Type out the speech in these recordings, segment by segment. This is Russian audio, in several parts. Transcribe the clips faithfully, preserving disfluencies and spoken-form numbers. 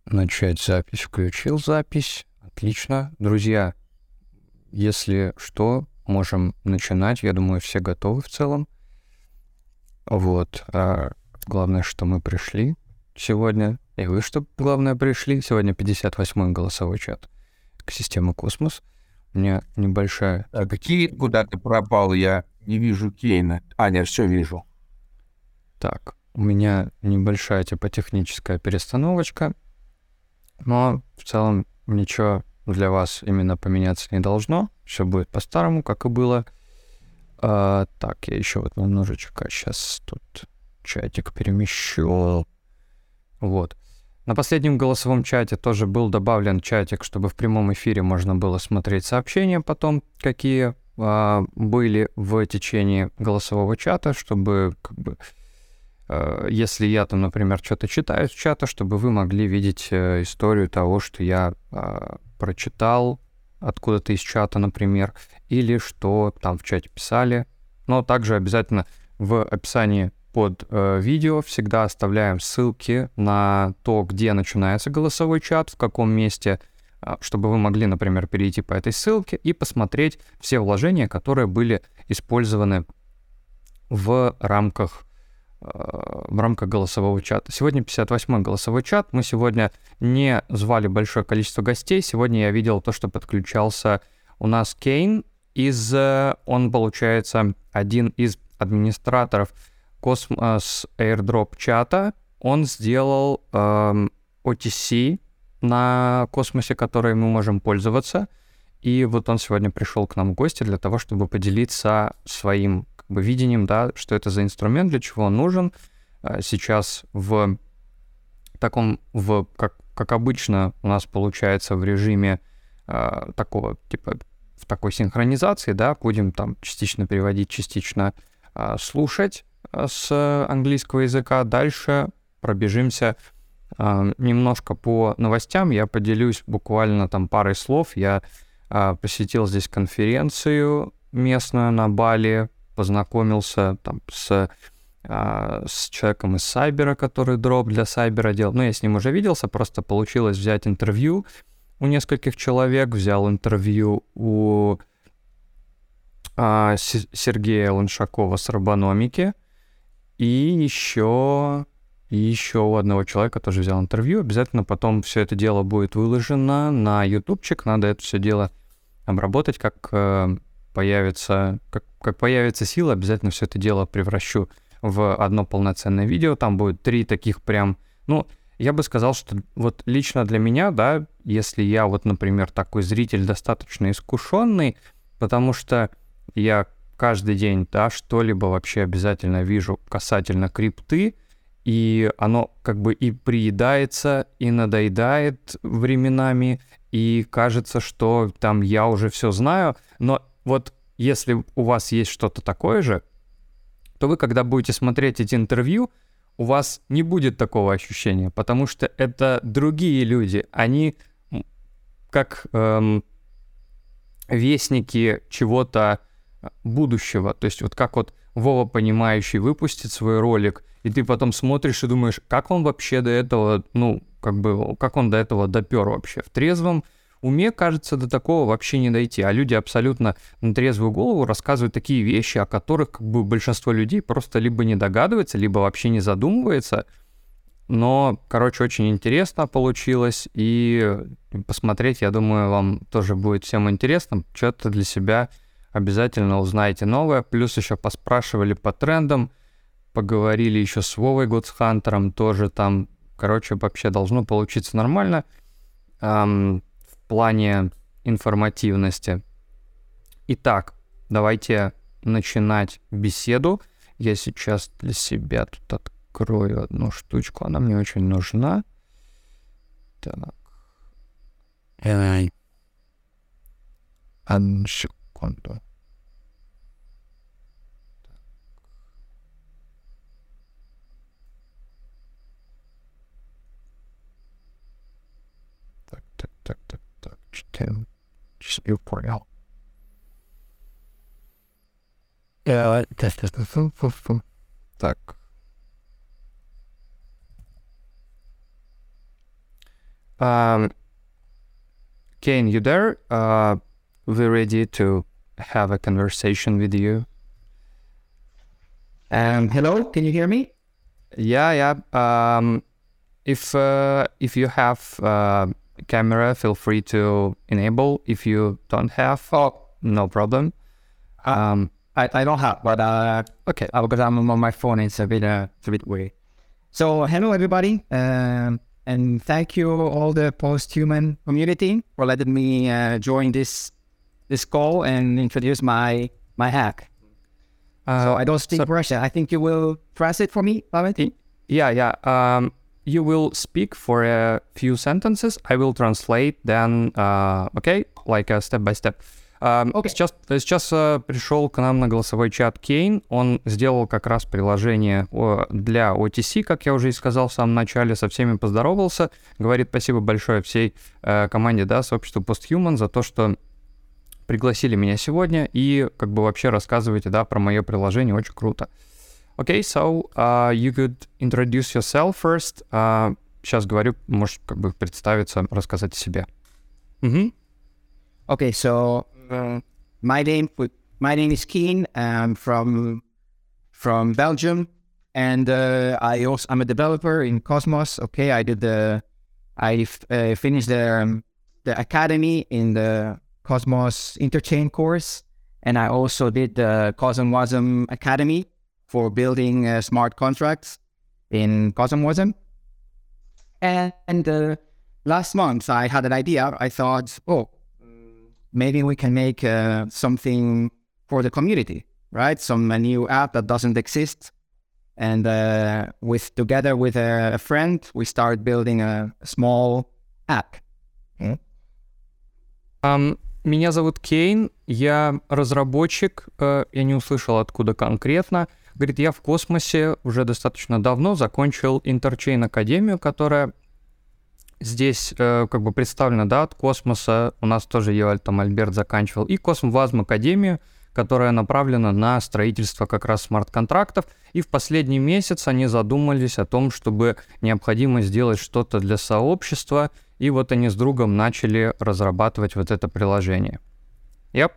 Начать запись. Включил запись. Отлично. Друзья, если что, можем начинать. Я думаю, все готовы в целом. Вот. А главное, что мы пришли сегодня. И вы, что главное, пришли. Сегодня пятьдесят восьмой голосовой чат к системе Космос. У меня небольшая... А какие куда ты пропал? Я не вижу Кейна. А, нет, все вижу. Так, у меня небольшая типа техническая перестановочка. Но в целом ничего для вас именно поменяться не должно. Все будет по-старому, как и было. А, так, я еще вот немножечко сейчас тут чатик перемещу. Вот. На последнем голосовом чате тоже был добавлен чатик, чтобы в прямом эфире можно было смотреть сообщения потом, какие а, были в течение голосового чата, чтобы как бы... Если я там, например, что-то читаю с чата, чтобы вы могли видеть э, историю того, что я э, прочитал откуда-то из чата, например, или что там в чате писали. Но также обязательно в описании под э, видео всегда оставляем ссылки на то, где начинается голосовой чат, в каком месте, э, чтобы вы могли, например, перейти по этой ссылке и посмотреть все вложения, которые были использованы в рамках в рамках голосового чата. Сегодня пятьдесят восьмой голосовой чат. Мы сегодня не звали большое количество гостей. Сегодня я видел то, что подключался у нас Кейн. Из, он, получается, один из администраторов Cosmos Airdrop чата. Он сделал эм, о ти си на Космосе, который мы можем пользоваться. И вот он сегодня пришел к нам в гости для того, чтобы поделиться своим как бы видением, да, что это за инструмент, для чего он нужен. Сейчас в таком, в, как, как обычно у нас получается в режиме э, такого, типа, в такой синхронизации, да, будем там частично переводить, частично э, слушать э, с английского языка. Дальше пробежимся э, немножко по новостям. Я поделюсь буквально там парой слов. Я э, посетил здесь конференцию местную на Бали, познакомился там с, а, с человеком из Сайбера, который дроп для Сайбера делал. Ну, я с ним уже виделся, просто получилось взять интервью у нескольких человек. Взял интервью у а, С- Сергея Луншакова с Робономики. И еще, и еще у одного человека тоже взял интервью. Обязательно потом все это дело будет выложено на ютубчик. Надо это все дело обработать, как... появится, как, как появится сила, обязательно все это дело превращу в одно полноценное видео. Там будет три таких прям... Ну, я бы сказал, что вот лично для меня, да, если я вот, например, такой зритель достаточно искушенный, потому что я каждый день, да, что-либо вообще обязательно вижу касательно крипты, и оно как бы и приедается, и надоедает временами, и кажется, что там я уже все знаю, но вот если у вас есть что-то такое же, то вы, когда будете смотреть эти интервью, у вас не будет такого ощущения, потому что это другие люди, они как эм, вестники чего-то будущего. То есть вот как вот Вова Понимающий выпустит свой ролик, и ты потом смотришь и думаешь, как он вообще до этого, ну, как бы, как он до этого допер вообще в трезвом уме, кажется, до такого вообще не дойти. А люди абсолютно на трезвую голову рассказывают такие вещи, о которых как бы большинство людей просто либо не догадывается, либо вообще не задумывается. Но, короче, очень интересно получилось. И посмотреть, я думаю, вам тоже будет всем интересно. Что-то для себя обязательно узнаете новое. Плюс еще поспрашивали по трендам. Поговорили еще с Вовой Годсхантером. Тоже там, короче, вообще должно получиться нормально. Эм, в плане информативности. Итак, давайте начинать беседу. Я сейчас для себя тут открою одну штучку. Она мне очень нужна. Так. Эй. Одну секунду. Так, так, так, так, так. Читаем. Я понял. Так. Um, Kane, you there? Uh, we're ready to have a conversation with you. Um, hello, can you hear me? Yeah, yeah. Um, if uh, if you have uh, camera, feel free to enable. If you don't have, Oh, no problem. Um, I, I don't have, but uh, okay. uh, because I'm on my phone, it's a bit uh, it's a bit weird. So hello everybody, um, and thank you all the post-human community for letting me uh, join this this call and introduce my my hack. Uh, so I don't speak so- Russian. I think you will translate for me, Pavel? Yeah, yeah. Um, you will speak for a few sentences. I will translate. Then, uh, okay, like uh, step by step. Um, Okay. Сейчас, сейчас uh, пришел к нам на голосовой чат Кейн. Он сделал как раз приложение о- для о ти си, как я уже и сказал в самом начале. Со всеми поздоровался. Говорит спасибо большое всей э, команде, да, сообществу Posthuman за то, что пригласили меня сегодня и как бы вообще рассказываете, да, про мое приложение. Очень круто. Okay, so uh, you could introduce yourself first. Uh, сейчас говорю, можешь как бы представиться, рассказать о себе. Мгм. Okay, so uh, my name my name is Keen. I'm from from Belgium, and uh, I also I'm a developer in Cosmos. Okay, I did the I f- uh, finished the um, the academy in the Cosmos Interchain course, and I also did the CosmWasm Academy for building uh, smart contracts in CosmWasm. And, and uh, last month I had an idea. I thought, oh, maybe we can make uh, something for the community, right? Some a new app that doesn't exist. And uh, with together with a, a friend, we started building a, a small app. Ам, Меня зовут Кейн, я разработчик, э, я не услышал, откуда конкретно. Говорит, я в космосе уже достаточно давно закончил Interchain Академию, которая здесь э, как бы представлена, да, от космоса. У нас тоже ее там Альберт заканчивал. И CosmWasm Академию, которая направлена на строительство как раз смарт-контрактов. И в последний месяц они задумались о том, чтобы необходимо сделать что-то для сообщества. И вот они с другом начали разрабатывать вот это приложение. Yep.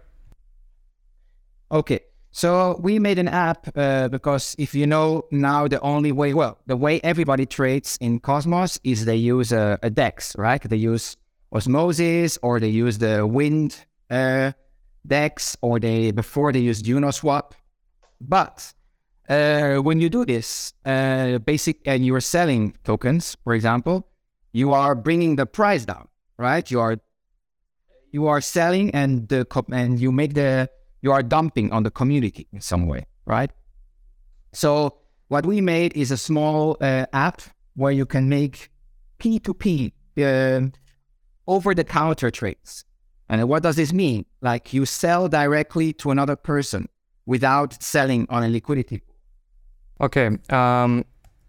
Okay, so we made an app uh, because if you know now the only way, well, the way everybody trades in Cosmos is they use a, a DEX, right? They use Osmosis or they use the Wind uh, DEX or they before they use Uniswap. But uh, when you do this, uh, basic and you are selling tokens, for example, you are bringing the price down, right? You are you are selling and the co- and you make the you are dumping on the community in some way, right? So what we made is a small uh, app where you can make P two P uh, over-the-counter trades. And what does this mean? Like you sell directly to another person without selling on a liquidity. Окей. ам,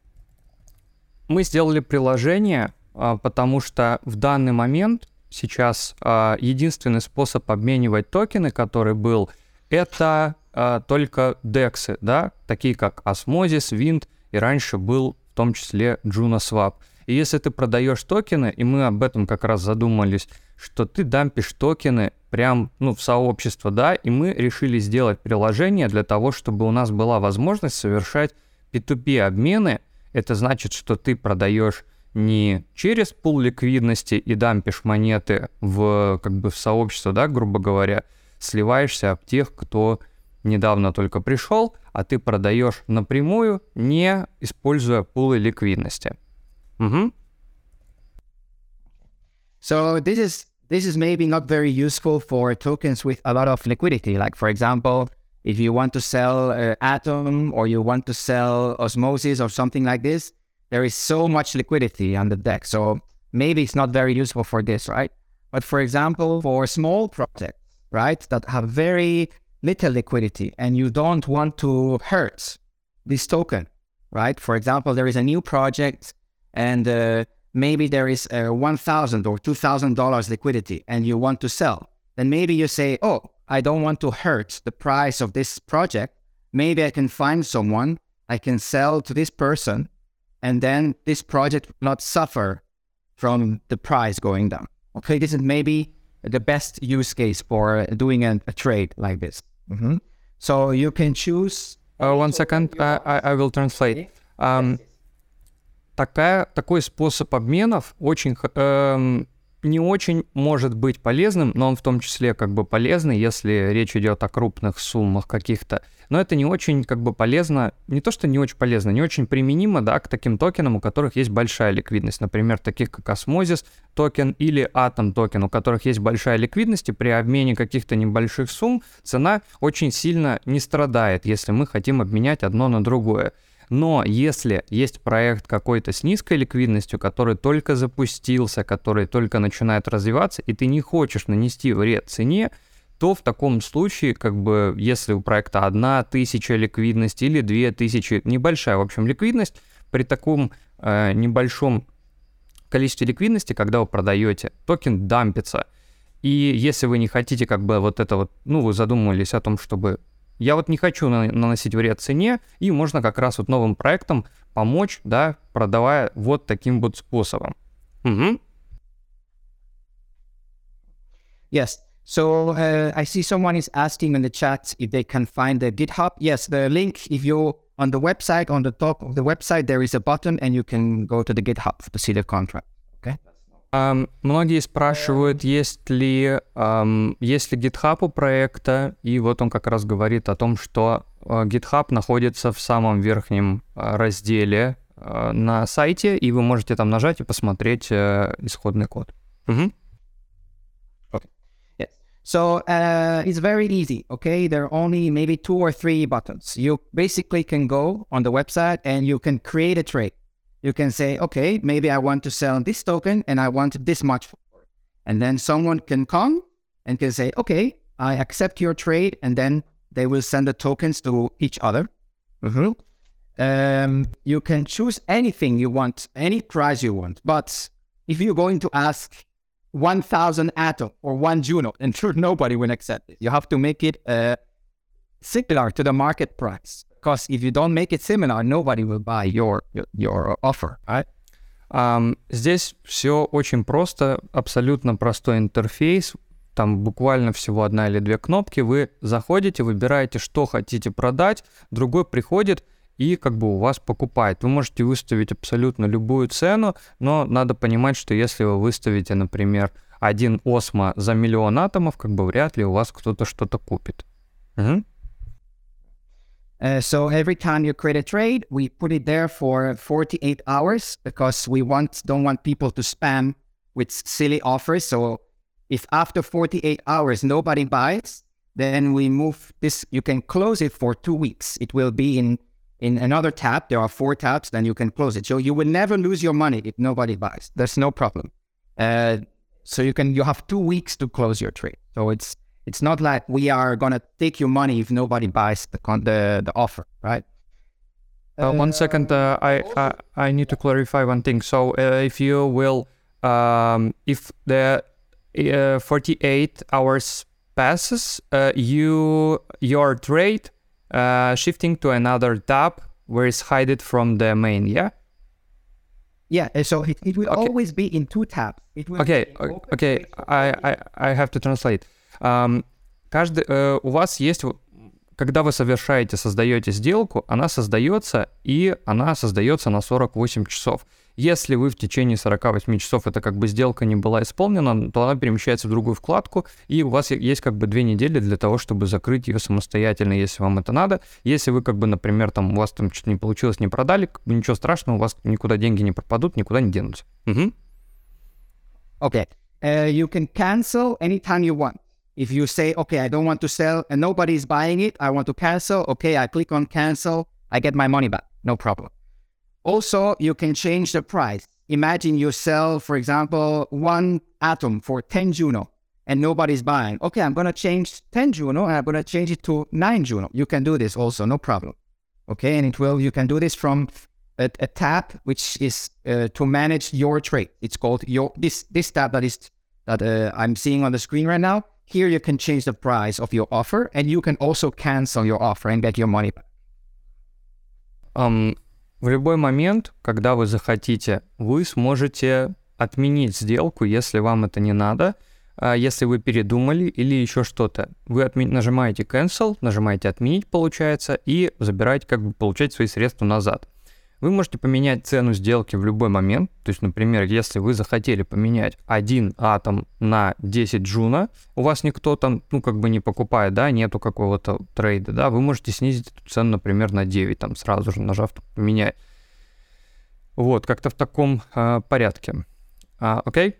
Мы сделали приложение, а, потому что в данный момент сейчас а, единственный способ обменивать токены, который был, это а, только дексы, да, такие как Osmosis, Wind, и раньше был в том числе Junoswap. И если ты продаешь токены, и мы об этом как раз задумались, что ты дампишь токены прям, ну, в сообщество, да, и мы решили сделать приложение для того, чтобы у нас была возможность совершать пи ту пи обмены. Это значит, что ты продаешь не через пул ликвидности и дампишь монеты в, как бы, в сообщество, да, грубо говоря, сливаешься об тех, кто недавно только пришел, а ты продаешь напрямую, не используя пулы ликвидности. Угу. So this is this is maybe not very useful for tokens with a lot of liquidity. Like for example, if you want to sell uh, Atom or you want to sell Osmosis or something like this, there is so much liquidity on the deck. So maybe it's not very useful for this, right? But for example, for small projects, right, that have very little liquidity and you don't want to hurt this token, right? For example, there is a new project and uh, maybe there is uh, one thousand or two thousand dollars liquidity and you want to sell. Then maybe you say, oh, I don't want to hurt the price of this project. Maybe I can find someone I can sell to this person, and then this project will not suffer from the price going down. Okay, this is maybe the best use case for doing a, a trade like this. Mm-hmm. So you can choose... Uh, one second, I, I, I will translate. Um, такая, такой способ обменов очень, эм, не очень может быть полезным, но он в том числе как бы полезный, если речь идет о крупных суммах каких-то. Но это не очень как бы полезно, не то что не очень полезно, не очень применимо, да, к таким токенам, у которых есть большая ликвидность. Например, таких как Osmosis токен или Atom токен, у которых есть большая ликвидность, и при обмене каких-то небольших сумм цена очень сильно не страдает, если мы хотим обменять одно на другое. Но если есть проект какой-то с низкой ликвидностью, который только запустился, который только начинает развиваться, и ты не хочешь нанести вред цене, то в таком случае, как бы, если у проекта одна тысяча ликвидности или две тысячи, небольшая, в общем, ликвидность, при таком э, небольшом количестве ликвидности, когда вы продаете, токен дампится. И если вы не хотите, как бы, вот это вот, ну, вы задумывались о том, чтобы... Я вот не хочу наносить вред цене, и можно как раз вот новым проектам помочь, да, продавая вот таким вот способом. Угу. Yes. So uh, I see someone is asking in the chat if they can find the GitHub. Yes, the link, if you on the website, on the top of the website, there is a button and you can go to the GitHub to see the contract. Okay. Um, многие спрашивают, есть ли, um, есть ли GitHub у проекта, и вот он как раз говорит о том, что uh, GitHub находится в самом верхнем uh, разделе uh, на сайте, и вы можете там нажать и посмотреть uh, исходный код. Mm-hmm. Okay. Yes. So uh, it's very easy, okay? There are only maybe two or three buttons. You basically can go on the website and you can create a trade. You can say, okay, maybe I want to sell this token and I want this much for it. And then someone can come and can say, okay, I accept your trade, and then they will send the tokens to each other. Mm-hmm. Um, you can choose anything you want, any price you want. But if you're going to ask one thousand Atom or one Juno, and sure, nobody will accept it. You have to make it uh, similar to the market price. Because if you don't make it similar, nobody will buy your, your, your offer, right? Um, здесь все очень просто, абсолютно простой интерфейс. Там буквально всего одна или две кнопки. Вы заходите, выбираете, что хотите продать, другой приходит и как бы у вас покупает. Вы можете выставить абсолютно любую цену, но надо понимать, что если вы выставите, например, один осмо за миллион атомов, как бы вряд ли у вас кто-то что-то купит. Угу. Uh, so every time you create a trade, we put it there for forty-eight hours because we want don't want people to spam with silly offers. So if after forty-eight hours nobody buys, then we move this. You can close it for two weeks. It will be in in another tab. There are four tabs. Then you can close it. So you will never lose your money if nobody buys. There's no problem. Uh, so you can you have two weeks to close your trade. So it's It's not like we are going to take your money if nobody buys the con- the, the offer, right? Uh, one second, uh, I, I I need to clarify one thing. So uh, if you will, um, if the uh, forty-eight hours passes, uh, you your trade uh, shifting to another tab where it's hidden from the main, yeah? Yeah, so it, it will okay. always be in two tabs. It will okay, be okay, I, I I have to translate. Um, каждый, uh, у вас есть, когда вы совершаете, создаете сделку, она создается, и она создается на сорок восемь часов. Если вы в течение сорок восемь часов, это как бы сделка не была исполнена, то она перемещается в другую вкладку, и у вас есть как бы две недели для того, чтобы закрыть ее самостоятельно, если вам это надо. Если вы как бы, например, там у вас там что-то не получилось, не продали, как бы ничего страшного, у вас никуда деньги не пропадут, никуда не денутся. Угу. Okay, uh, you can cancel anytime you want. If you say, okay, I don't want to sell and nobody is buying it, I want to cancel. Okay, I click on cancel, I get my money back, no problem. Also, you can change the price. Imagine you sell, for example, one Atom for ten Juno and nobody's buying. Okay, I'm going to change ten Juno and I'm going to change it to nine Juno. You can do this also, no problem. Okay, and it will, you can do this from a, a tab, which is uh, to manage your trade. It's called your, this, this tab that is, that uh, I'm seeing on the screen right now. Here you can change the price of your offer, and you can also cancel your offer and get your money back. Um, в любой момент, когда вы захотите, вы сможете отменить сделку, если вам это не надо, если вы передумали или еще что-то. Вы отми- нажимаете cancel, нажимаете отменить, получается, и забираете, как бы, получаете свои средства назад. Вы можете поменять цену сделки в любой момент. То есть, например, если вы захотели поменять один атом на десять джуна, у вас никто там, ну, как бы не покупает, да, нету какого-то трейда, да, вы можете снизить эту цену, например, на девять, там, сразу же нажав поменять. Вот, как-то в таком э, порядке. Uh, okay?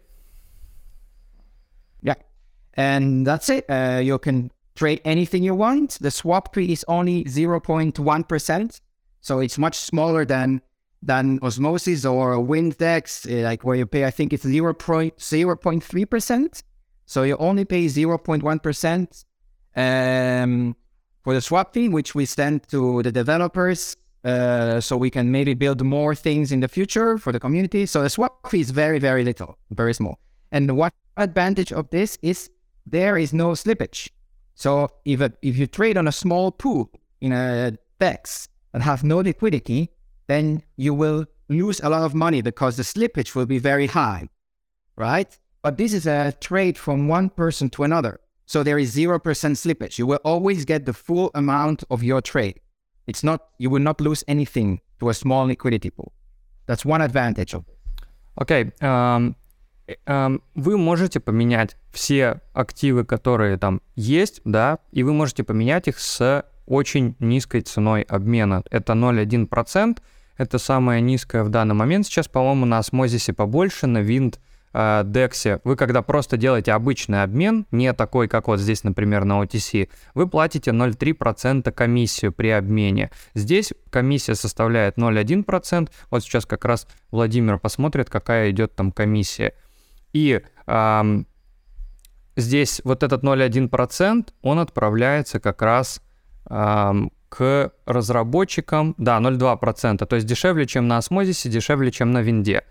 Yeah. And that's it. Uh, you can trade anything you want. The swap fee is only zero point one percent. So it's much smaller than than Osmosis or Windex, like where you pay, I think it's zero point zero three percent. So you only pay zero point one percent um, for the swap fee, which we send to the developers. Uh, so we can maybe build more things in the future for the community. So the swap fee is very, very little, very small. And what advantage of this is there is no slippage. So if a, if you trade on a small pool in a DEX and have no liquidity, then you will lose a lot of money because the slippage will be very high, right? But this is a trade from one person to another. So there is zero percent slippage. You will always get the full amount of your trade. It's not, you will not lose anything to a small liquidity pool. That's one advantage of it. Окей. Okay. Um, um, вы можете поменять все активы, которые там есть, да, и вы можете поменять их с очень низкой ценой обмена. Это ноль целых одна десятая процента. Это самая низкая в данный момент. Сейчас, по-моему, на Osmosis побольше, на Wind, Дексе, вы когда просто делаете обычный обмен, не такой, как вот здесь, например, на о ти си, вы платите ноль целых три десятых процента комиссию при обмене. Здесь комиссия составляет ноль целых одна десятая процента. Вот сейчас как раз Владимир посмотрит, какая идет там комиссия. И эм, здесь вот этот ноль целых одна десятая процента, он отправляется как раз эм, к разработчикам, да, ноль целых два десятых процента, то есть дешевле, чем на Osmosis, дешевле, чем на Винде.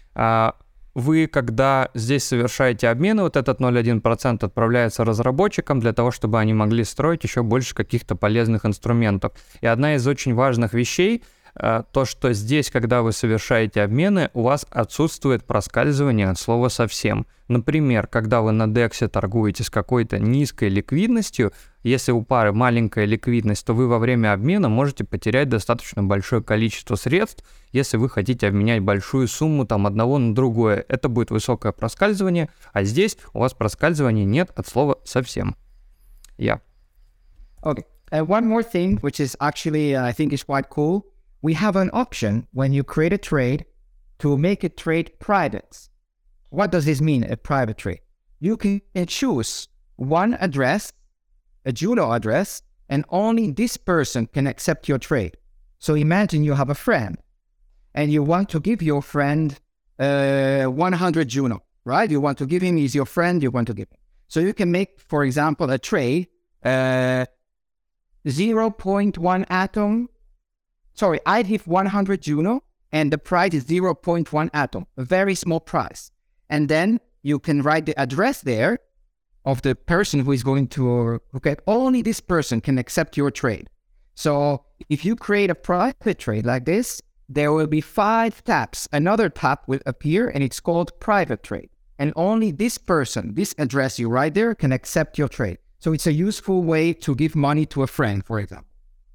Вы, когда здесь совершаете обмены, вот этот ноль целых одна десятая процента отправляется разработчикам для того, чтобы они могли строить еще больше каких-то полезных инструментов. И одна из очень важных вещей, то, что здесь, когда вы совершаете обмены, у вас отсутствует проскальзывание от слова совсем. Например, когда вы на дексе торгуете с какой-то низкой ликвидностью, если у пары маленькая ликвидность, то вы во время обмена можете потерять достаточно большое количество средств, если вы хотите обменять большую сумму там одного на другое. Это будет высокое проскальзывание, а здесь у вас проскальзывания нет от слова совсем. Yeah. Okay. Uh, one more thing, which is actually, uh, I think is quite cool. We have an option when you create a trade to make a trade private. What does this mean, a private trade? You can choose one address, a Juno address, and only this person can accept your trade. So imagine you have a friend and you want to give your friend uh, one hundred Juno, right? You want to give him, he's your friend, you want to give him. So you can make, for example, a trade, uh, zero point one atom. Sorry, I give one hundred Juno and the price is zero point one atom, a very small price. And then you can write the address there of the person who is going to, okay, only this person can accept your trade. So if you create a private trade like this, there will be five taps. Another tap will appear and it's called private trade. And only this person, this address you write there can accept your trade. So it's a useful way to give money to a friend, for example.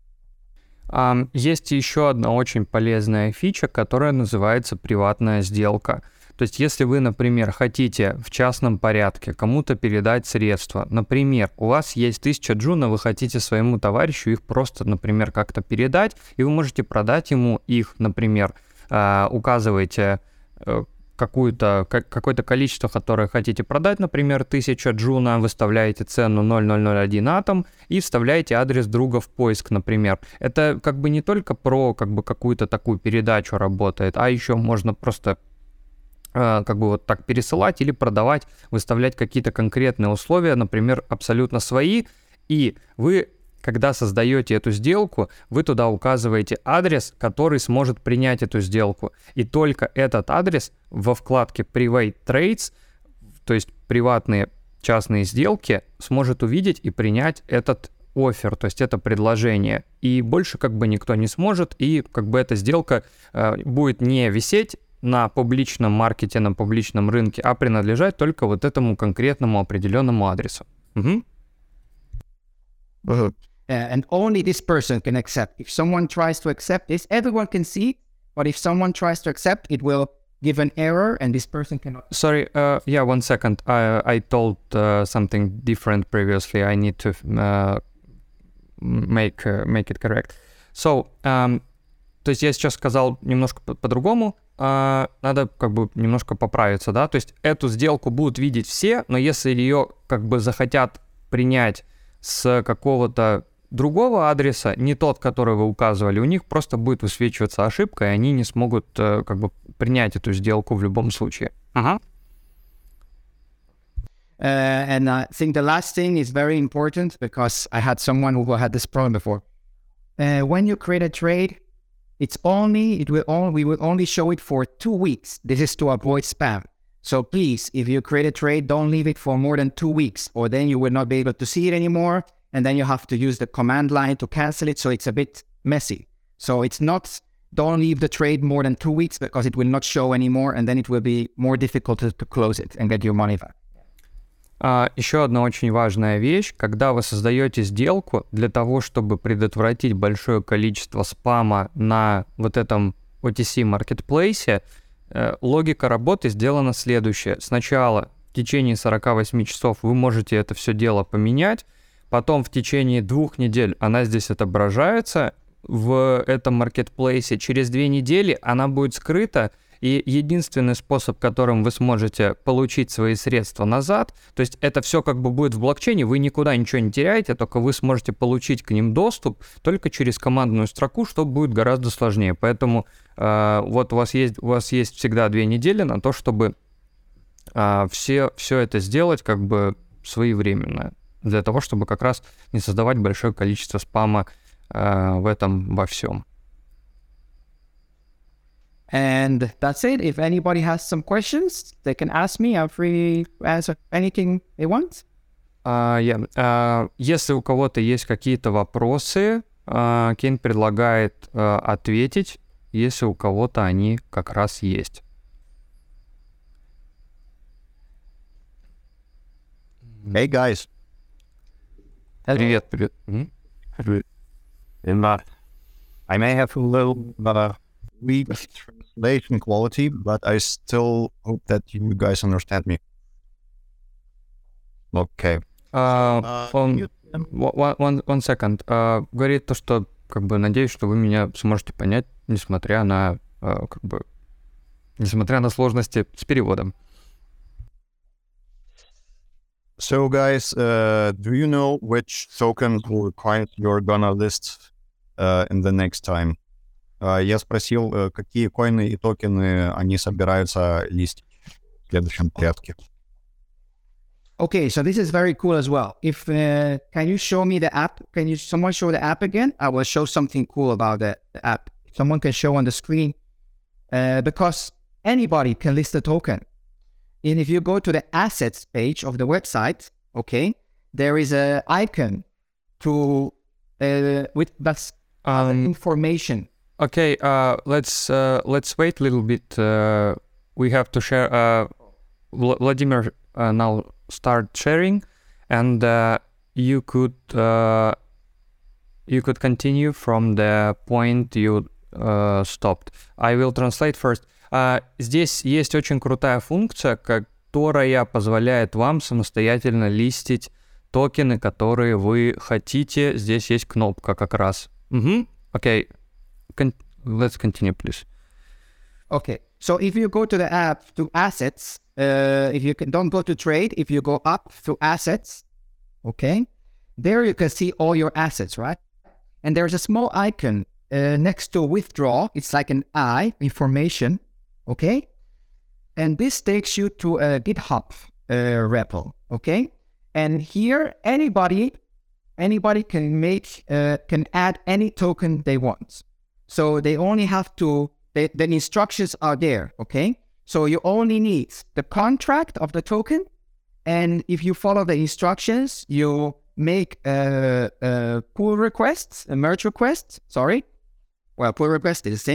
Um, есть еще одна очень полезная фича, которая называется приватная сделка. То есть, если вы, например, хотите в частном порядке кому-то передать средства, например, у вас есть тысяча джуна, вы хотите своему товарищу их просто, например, как-то передать, и вы можете продать ему их, например, э, указываете э, какую-то, как, какое-то количество, которое хотите продать, например, тысяча джуна, выставляете цену ноль целых ноль ноль один атом и вставляете адрес друга в поиск, например. Это как бы не только про как бы какую-то такую передачу работает, а еще можно просто как бы вот так пересылать или продавать, выставлять какие-то конкретные условия, например, абсолютно свои, и вы, когда создаете эту сделку, вы туда указываете адрес, который сможет принять эту сделку, и только этот адрес во вкладке Private Trades, то есть приватные частные сделки, сможет увидеть и принять этот оффер, то есть это предложение, и больше как бы никто не сможет, и как бы эта сделка э, будет не висеть на публичном маркете, на публичном рынке, а принадлежать только вот этому конкретному определенному адресу. Угу. Uh, and only this person can accept. If someone tries to accept this, everyone can see it, but if someone tries to accept, it will give an error and this person cannot. Sorry, uh, yeah, one second. I, I told uh, something different previously. I need to uh, make, uh, make it correct. So, um, то есть я сейчас сказал немножко по- по-другому, uh, надо как бы немножко поправиться, да, то есть эту сделку будут видеть все, но если ее как бы захотят принять с какого-то другого адреса, не тот, который вы указывали, у них просто будет высвечиваться ошибка, и они не смогут uh, как бы принять эту сделку в любом случае. Ага. Uh, and I think the last thing is very important because I had someone who had this problem before. Uh, when you create a trade, it's only, it will only, we will only show it for two weeks. This is to avoid spam. So please, if you create a trade, don't leave it for more than two weeks, or then you will not be able to see it anymore. And then you have to use the command line to cancel it. So it's a bit messy. So it's not, don't leave the trade more than two weeks because it will not show anymore. And then it will be more difficult to, to close it and get your money back. Uh, еще одна очень важная вещь, когда вы создаете сделку для того, чтобы предотвратить большое количество спама на вот этом о ти си маркетплейсе, э, логика работы сделана следующая. Сначала в течение сорок восемь часов вы можете это все дело поменять, потом в течение двух недель она здесь отображается в этом маркетплейсе, через две недели она будет скрыта, и единственный способ, которым вы сможете получить свои средства назад, то есть это все как бы будет в блокчейне, вы никуда ничего не теряете, только вы сможете получить к ним доступ только через командную строку, что будет гораздо сложнее. Поэтому э, вот у вас есть, у вас есть всегда две недели на то, чтобы э, все, все это сделать как бы своевременно, для того, чтобы как раз не создавать большое количество спама э, в этом во всем. And that's it. If anybody has some questions, they can ask me. I'm free to answer anything they want. Uh, yeah. uh, если у кого-то есть какие-то вопросы, uh, Кейн предлагает uh, ответить, если у кого-то они как раз есть. Hey guys. Привет, привет. Mm-hmm. In that, I may have a little uh, weak translation quality, but I still hope that you guys understand me. Okay. Uh, Uh, он, you- one, one, one second. Uh, говорит то, что как бы надеюсь, что вы меня сможете понять, несмотря на uh, как бы несмотря на сложности с переводом. So guys, uh, do you know which tokens or coins you're gonna list uh, in the next time? Uh, я спросил, uh, какие коины и токены они собираются листить в следующем порядке. Okay, so this is very cool as well. If uh, can you show me the app? Can you someone show the app again? I will show something cool about the, the app. Someone can show on the screen uh, because anybody can list a token. And if you go to the assets page of the website, okay, there is a icon to uh, with that's Um, information. Okay, uh, let's uh, let's wait a little bit. Uh, we have to share. Uh, Vl- Vladimir uh, now start sharing, and uh, you could uh, you could continue from the point you uh, stopped. I will translate first. Uh, здесь есть очень крутая функция, которая позволяет вам самостоятельно листить токены, которые вы хотите. Здесь есть кнопка как раз. Mm-hmm. Okay, Con- let's continue, please. Okay, so if you go to the app to assets, uh, if you can, don't go to trade, if you go up to assets, okay, there you can see all your assets, right? And there's a small icon uh, next to withdraw. It's like an I, information, okay? And this takes you to a GitHub uh, repo, okay? And here, anybody, anybody can make, uh, can add any token they want. So they only have to, they, the instructions are there, okay? So you only need the contract of the token. And if you follow the instructions, you make a, a pull request, a merge request, sorry. Well, pull request is the same.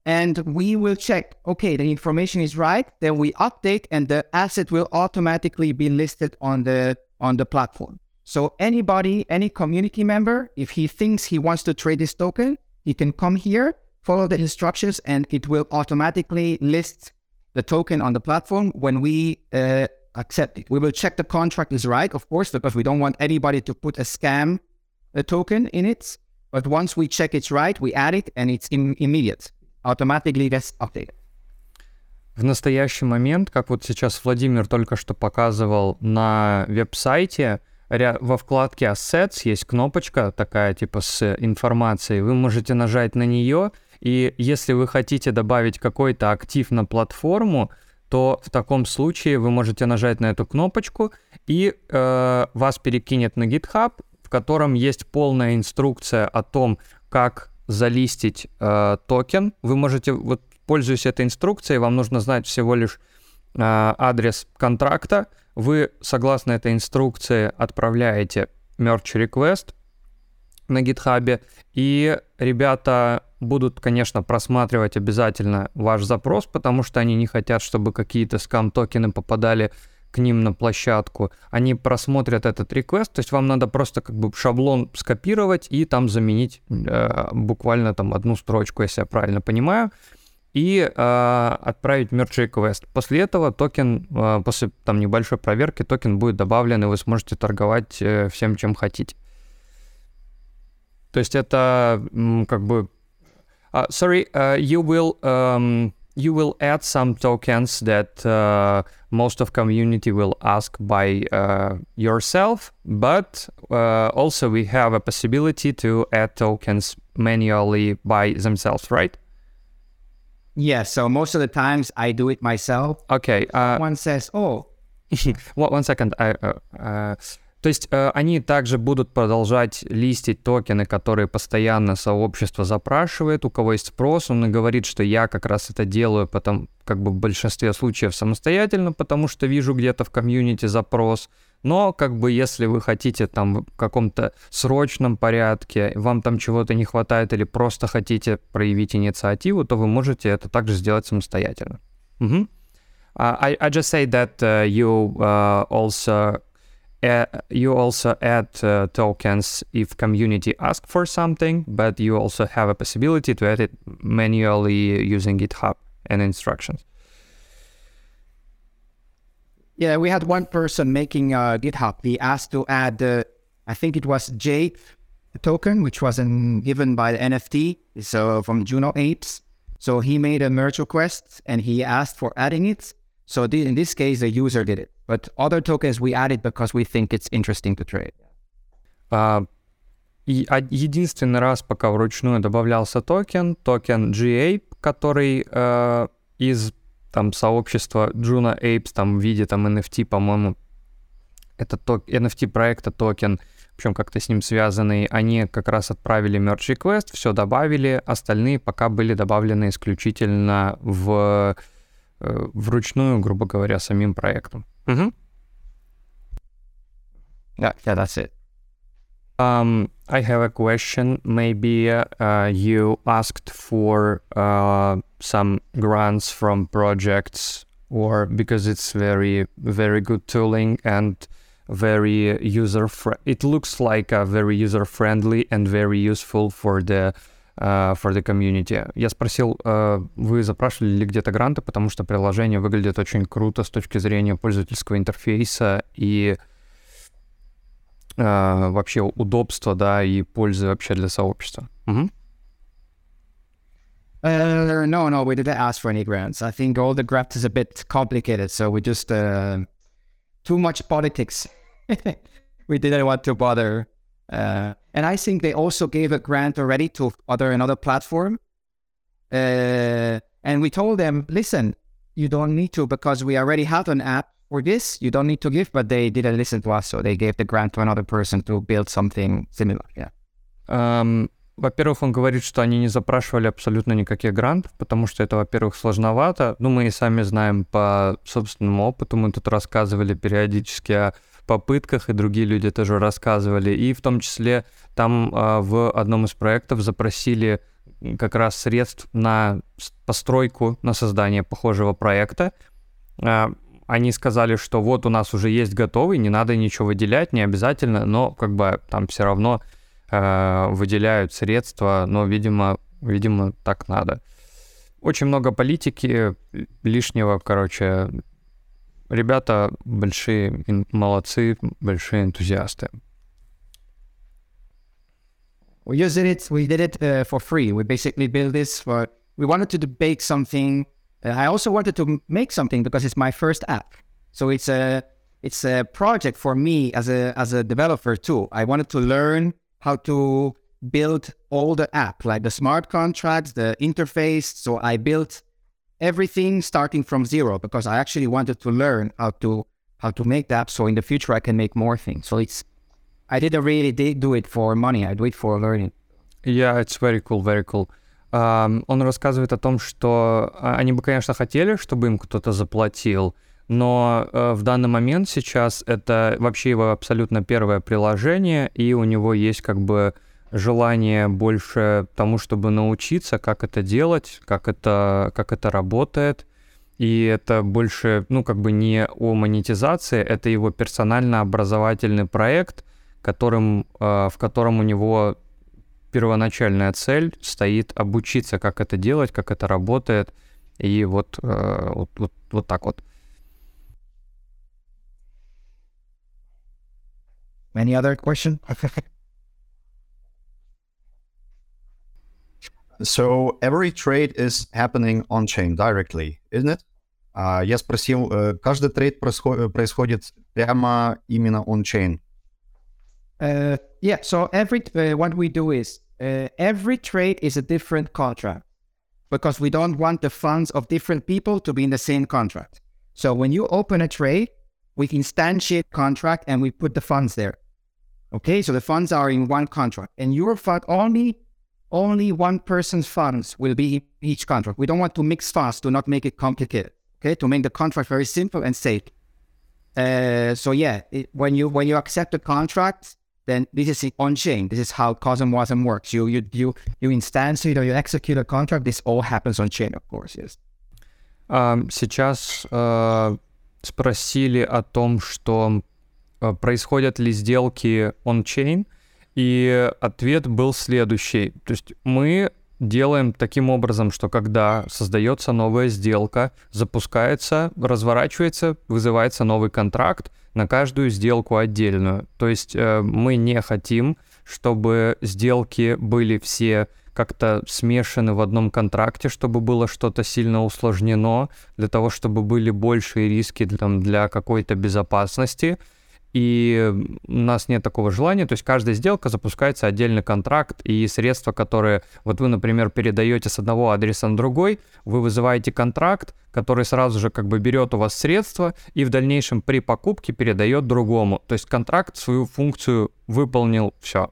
and we will check, okay, the information is right, then we update and the asset will automatically be listed on the on the platform. So anybody, any community member, if he thinks he wants to trade this token, he can come here, follow the instructions, and it will automatically list the token on the platform when we uh, accept it. We will check the contract is right, of course, because we don't want anybody to put a scam a token in it. But once we check it's right, we add it, and it's in, immediate. Automatically gets updated. В настоящий момент, как вот сейчас Владимир только что показывал на веб-сайте, во вкладке Assets есть кнопочка такая типа с информацией. Вы можете нажать на нее, и если вы хотите добавить какой-то актив на платформу, то в таком случае вы можете нажать на эту кнопочку, и э, вас перекинет на GitHub, в котором есть полная инструкция о том, как залистить э, токен. Вы можете, вот пользуясь этой инструкцией, вам нужно знать всего лишь э, адрес контракта. Вы, согласно этой инструкции, отправляете merge request на GitHub, и ребята будут, конечно, просматривать обязательно ваш запрос, потому что они не хотят, чтобы какие-то скам-токены попадали к ним на площадку. Они просмотрят этот request, то есть вам надо просто как бы шаблон скопировать и там заменить э, буквально там одну строчку, если я правильно понимаю, и э, отправить merge request. После этого токен, э, после там небольшой проверки, токен будет добавлен, и вы сможете торговать э, всем, чем хотите. То есть это м, как бы... Uh, sorry, uh, you will um, you will add some tokens that uh, most of community will ask by uh, yourself, but uh, also we have a possibility to add tokens manually by themselves, right? Yeah, so most of the times I do it myself. Okay. Uh, One says, oh. one, one second. I, uh, uh, То есть э, они также будут продолжать листить токены, которые постоянно сообщество запрашивает, у кого есть спрос. Он и говорит, что я как раз это делаю потом, как бы в большинстве случаев самостоятельно, потому что вижу где-то в комьюнити запрос. Но как бы если вы хотите там в каком-то срочном порядке, вам там чего-то не хватает или просто хотите проявить инициативу, то вы можете это также сделать самостоятельно. Mm-hmm. uh, I, I just say that uh, you uh, also... Uh, you also add uh, tokens if community asks for something, but you also have a possibility to add it manually using GitHub and instructions. Yeah, we had one person making uh, GitHub. He asked to add, uh, I think it was Jade token, which was an, given by the N F T, so from Juno Apes. So he made a merge request and he asked for adding it. So the, in this case, the user did it. But other tokens we added because we think it's interesting to trade. Uh, и, а, единственный раз, пока вручную добавлялся токен, токен G-Ape, который uh, из там сообщества Juno Apes, там в виде там эн эф ти, по-моему, это ток, эн эф ти проекта токен, причем как-то с ним связанный, они как раз отправили merge request, все добавили, остальные пока были добавлены исключительно в вручную, грубо говоря, самим проектом. Mm-hmm. Yeah, yeah, that's it. Um, I have a question. Maybe uh, you asked for uh, some grants from projects, or because it's very, very good tooling and very user. Fr- it looks like a very user friendly and very useful for the Uh, for the community. Я спросил, uh, вы запрашивали ли где-то гранты, потому что приложение выглядит очень круто с точки зрения пользовательского интерфейса и uh, вообще удобства, да, и пользы вообще для сообщества. Mm-hmm. Uh, no, no, we didn't ask for any grants. I think all the grants is a bit complicated, so we just uh, too much politics. We didn't want to bother. Uh, and I think they also gave a grant already to other another platform. Uh, and we told them, listen, you don't need to because we already have an app for this. You don't need to give, but they didn't listen to us, so they gave the grant to another person to build something similar. Yeah. Um, во-первых, он говорит, что они не запрашивали абсолютно никаких грантов, потому что это, во-первых, сложновато. Ну, мы и сами знаем по собственному опыту, мы тут рассказывали периодически о попытках, и другие люди тоже рассказывали, и в том числе там а, в одном из проектов запросили как раз средств на постройку, на создание похожего проекта. Они сказали, что вот у нас уже есть готовый, не надо ничего выделять, не обязательно, но как бы там все равно э, выделяют средства, но, видимо, видимо, так надо. Очень много политики лишнего, короче. Ребята большие молодцы, большие энтузиасты. We used it, we did it uh, for free. We basically built this for, we wanted to bake something. Uh, I also wanted to make something because it's my first app. So it's a, it's a project for me as a, as a developer too. I wanted to learn how to build all the app, like the smart contracts, the interface. So I built everything starting from zero because I actually wanted to learn how to, how to make the app. So in the future I can make more things. So it's, I didn't really do it for money. I do it for learning. Yeah, it's very cool, very cool. Um, он рассказывает о том, что они бы, конечно, хотели, чтобы им кто-то заплатил, но uh, в данный момент сейчас это вообще его абсолютно первое приложение, и у него есть как бы желание больше тому, чтобы научиться, как это делать, как это, как это работает. И это больше, ну, как бы не о монетизации, это его персонально-образовательный проект, которым, э, в котором у него первоначальная цель стоит обучиться, как это делать, как это работает, и вот, э, вот, вот, вот так вот. Any other question? So every trade is happening on-chain directly, isn't it? Uh, я спросил, uh, каждый трейд происход- происходит прямо именно on-chain. Uh, yeah, so every uh, what we do is uh, every trade is a different contract because we don't want the funds of different people to be in the same contract. So when you open a trade, we instantiate contract and we put the funds there. Okay, so the funds are in one contract, and your fund only only one person's funds will be in each contract. We don't want to mix funds to not make it complicated. Okay, to make the contract very simple and safe. Uh, so yeah, it, when you when you accept the contract, then this is on-chain. This is how CosmWasm works. You you you you instantiate or you execute a contract. This all happens on-chain, of course. Yes. Um, сейчас uh, спросили о том, что uh, происходят ли сделки on-chain, и ответ был следующий. То есть мы делаем таким образом, что когда создается новая сделка, запускается, разворачивается, вызывается новый контракт на каждую сделку отдельную. То есть э, мы не хотим, чтобы сделки были все как-то смешаны в одном контракте, чтобы было что-то сильно усложнено, для того, чтобы были большие риски там, для какой-то безопасности. И у нас нет такого желания, то есть каждая сделка запускается отдельный контракт, и средства, которые, вот вы, например, передаете с одного адреса на другой, вы вызываете контракт, который сразу же как бы берет у вас средства и в дальнейшем при покупке передает другому. То есть контракт свою функцию выполнил, все.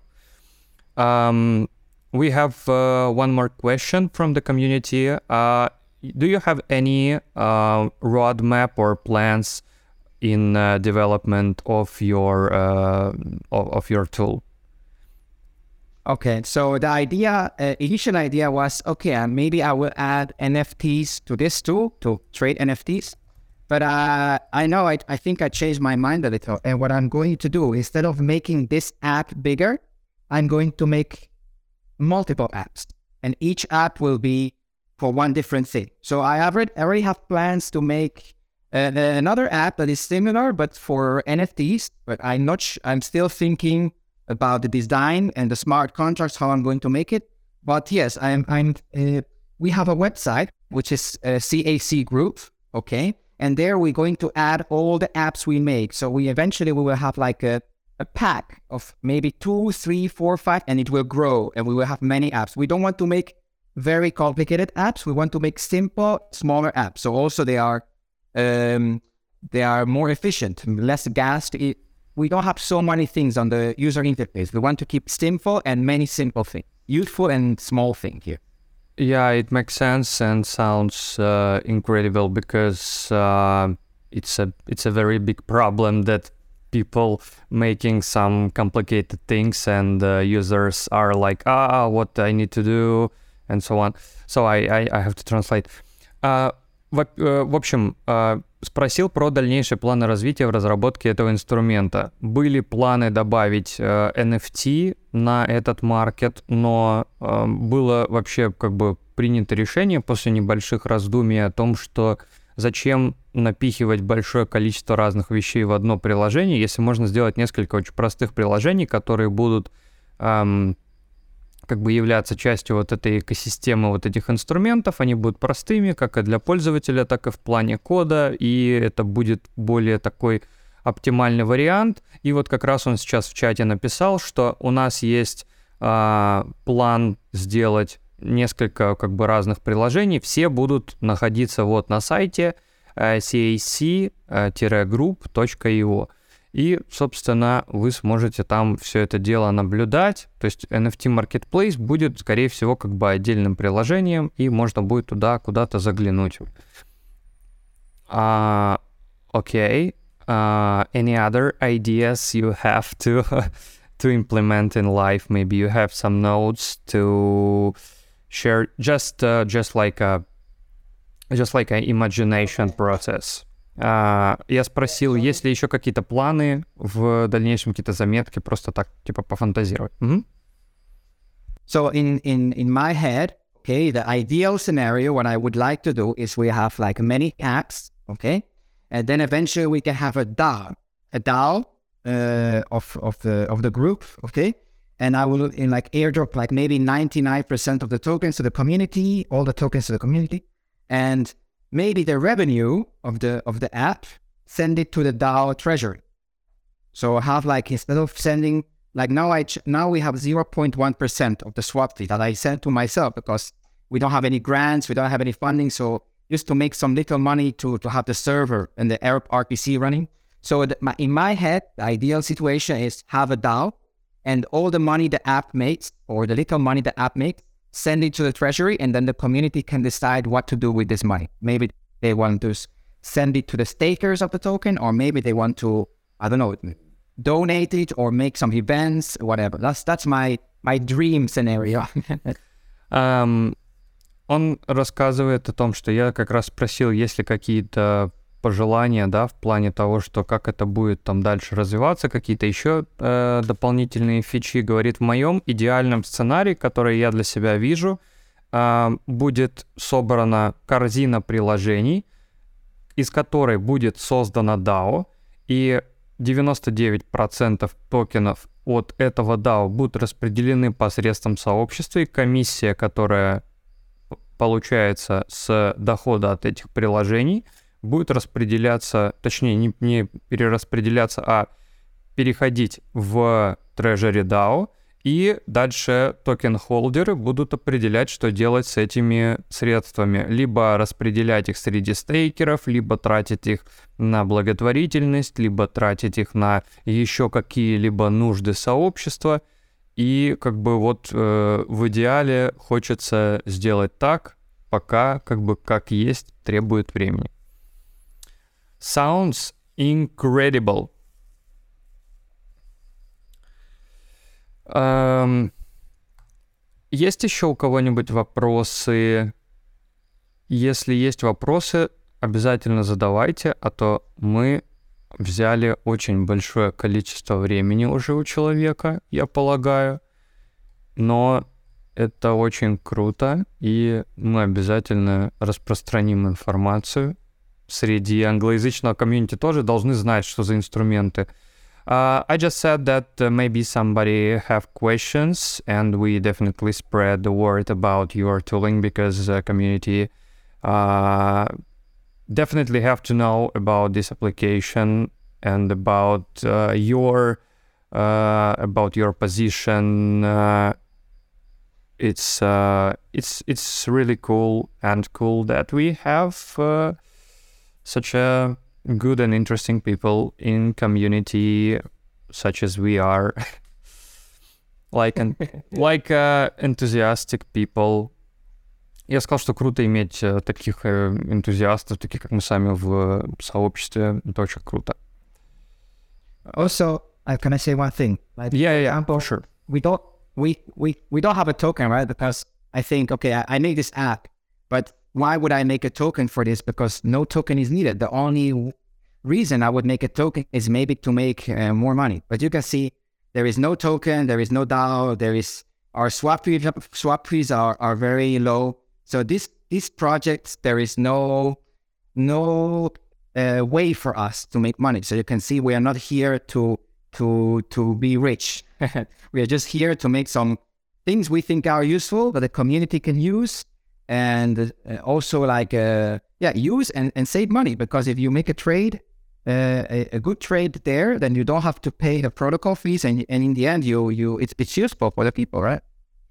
Um, we have uh, one more question from the community. Uh, do you have any uh, roadmap or plans in uh, development of your uh, of, of your tool? Okay, so the idea, uh, initial idea was, okay, uh, maybe I will add N F Ts to this tool to trade N F Ts. But uh, I know I, I think I changed my mind a little. And what I'm going to do, instead of making this app bigger, I'm going to make multiple apps. And each app will be for one different thing. So I already, already have plans to make Uh, another app that is similar, but for N F Ts, but I'm not, sh- I'm still thinking about the design and the smart contracts, how I'm going to make it. But yes, I'm, I'm, uh, we have a website, which is uh, C A C Group, okay? And there we're going to add all the apps we make. So we eventually, we will have like a, a pack of maybe two, three, four, five, and it will grow and we will have many apps. We don't want to make very complicated apps. We want to make simple, smaller apps. So also they are Um, they are more efficient, less gas to eat. We don't have so many things on the user interface. We want to keep simple and many simple things, useful and small thing here. Yeah, it makes sense and sounds uh, incredible because uh, it's a it's a very big problem that people making some complicated things and uh, users are like, ah, what I need to do, and so on. So I, I, I have to translate. Uh, в, uh, в общем, uh, спросил про дальнейшие планы развития в разработке этого инструмента. Были планы добавить uh, эн эф ти на этот маркет, но uh, было вообще как бы принято решение после небольших раздумий о том, что зачем напихивать большое количество разных вещей в одно приложение, если можно сделать несколько очень простых приложений, которые будут эм, как бы являться частью вот этой экосистемы вот этих инструментов. Они будут простыми, как и для пользователя, так и в плане кода, и это будет более такой оптимальный вариант. И вот как раз он сейчас в чате написал, что у нас есть э, план сделать несколько как бы разных приложений, все будут находиться вот на сайте uh, си эй си group точка ай о. И, собственно, вы сможете там все это дело наблюдать. То есть эн эф ти Marketplace будет, скорее всего, как бы отдельным приложением, и можно будет туда куда-то заглянуть. Uh, okay. Uh, any other ideas you have to, to implement in life? Maybe you have some notes to share, just uh, just like a just like an imagination process. Uh, я спросил, есть ли еще какие-то планы в дальнейшем, какие-то заметки, просто так, типа, пофантазировать. Mm-hmm. So in, in, in my head, okay, the ideal scenario, what I would like to do is we have like many apps, okay, and then eventually we can have a DAO, a DAO uh, of of the of the group, okay. And I will in like airdrop like maybe ninety-nine percent of the tokens to the community, all the tokens to the community, and maybe the revenue of the of the app send it to the DAO treasury. So I have like instead of sending like now I ch- now we have zero point one percent of the swap fee that I sent to myself because we don't have any grants, we don't have any funding, so just to make some little money to to have the server and the Arab R P C running. So the, my, in my head, the ideal situation is have a DAO. And all the money the app makes, or the little money the app makes, send it to the treasury, and then the community can decide what to do with this money. Maybe they want to send it to the stakers of the token, or maybe they want to, I don't know, donate it or make some events, whatever. That's that's my my dream scenario. um, он рассказывает о том, что я как раз спросил, есть ли какие-то пожелания, да, в плане того, что как это будет там дальше развиваться, какие-то еще э, дополнительные фичи. Говорит, в моем идеальном сценарии, который я для себя вижу, э, будет собрана корзина приложений, из которой будет создана дао, и девяносто девять процентов токенов от этого дао будут распределены посредством сообщества, и комиссия, которая получается с дохода от этих приложений, будет распределяться, точнее, не, не перераспределяться, а переходить в Treasury дао, и дальше токен-холдеры будут определять, что делать с этими средствами. Либо распределять их среди стейкеров, либо тратить их на благотворительность, либо тратить их на еще какие-либо нужды сообщества. И как бы вот э, в идеале хочется сделать так, пока как бы как есть требует времени. Sounds incredible. Um, есть еще у кого-нибудь вопросы? Если есть вопросы, обязательно задавайте, а то мы взяли очень большое количество времени уже у человека, я полагаю. Но это очень круто, и мы обязательно распространим информацию. Среди англоязычного комьюнити тоже должны знать, что за инструменты. Uh, I just said that uh, maybe somebody have questions, and we definitely spread the word about your tooling because the community uh, definitely have to know about this application and about uh, your uh, about your position. Uh, it's uh, it's it's really cool and cool that we have. Uh, such a good and interesting people in community such as we are. like an, like uh, enthusiastic people. Я сказал, что круто иметь uh, таких uh, энтузиастов, таких как мы сами в uh, сообществе. Это очень круто. Also, uh, can I say one thing? Like, yeah, yeah, example, sure. We don't we, we we don't have a token, right? Because I think, okay, I, I make this app, but why would I make a token for this? Because no token is needed. The only w- reason I would make a token is maybe to make uh, more money. But you can see there is no token, there is no DAO, there is, our swap fees, swap fees are, are very low. So this, these projects, there is no, no uh, way for us to make money. So you can see we are not here to, to, to be rich. We are just here to make some things we think are useful that the community can use, and uh, also like, uh, yeah, use and, and save money. Because if you make a trade, uh, a, a good trade there, then you don't have to pay the protocol fees, and, and in the end, you, you, it's, it's useful for the people, right?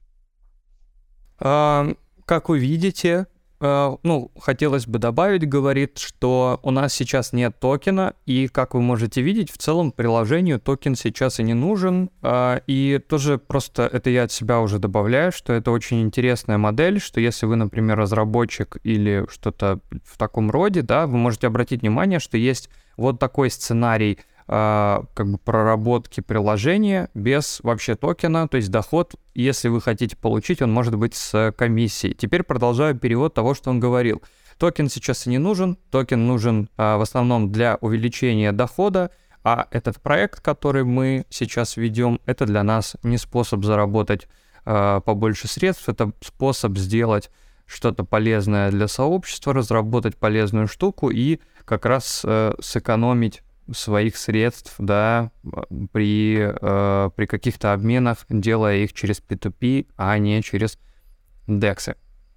Um, как вы видите, Uh, ну, хотелось бы добавить, говорит, что у нас сейчас нет токена, и, как вы можете видеть, в целом приложению токен сейчас и не нужен, uh, и тоже просто это я от себя уже добавляю, что это очень интересная модель, что если вы, например, разработчик или что-то в таком роде, да, вы можете обратить внимание, что есть вот такой сценарий Uh, как бы проработки приложения без вообще токена, то есть доход, если вы хотите получить, он может быть с комиссией. Теперь продолжаю перевод того, что он говорил. Токен сейчас и не нужен, токен нужен uh, в основном для увеличения дохода, а этот проект, который мы сейчас ведем, это для нас не способ заработать uh, побольше средств, это способ сделать что-то полезное для сообщества, разработать полезную штуку и как раз uh, сэкономить своих средств, да, при, э, при каких-то обменах, делая их через пи ту пи, а не через дексы.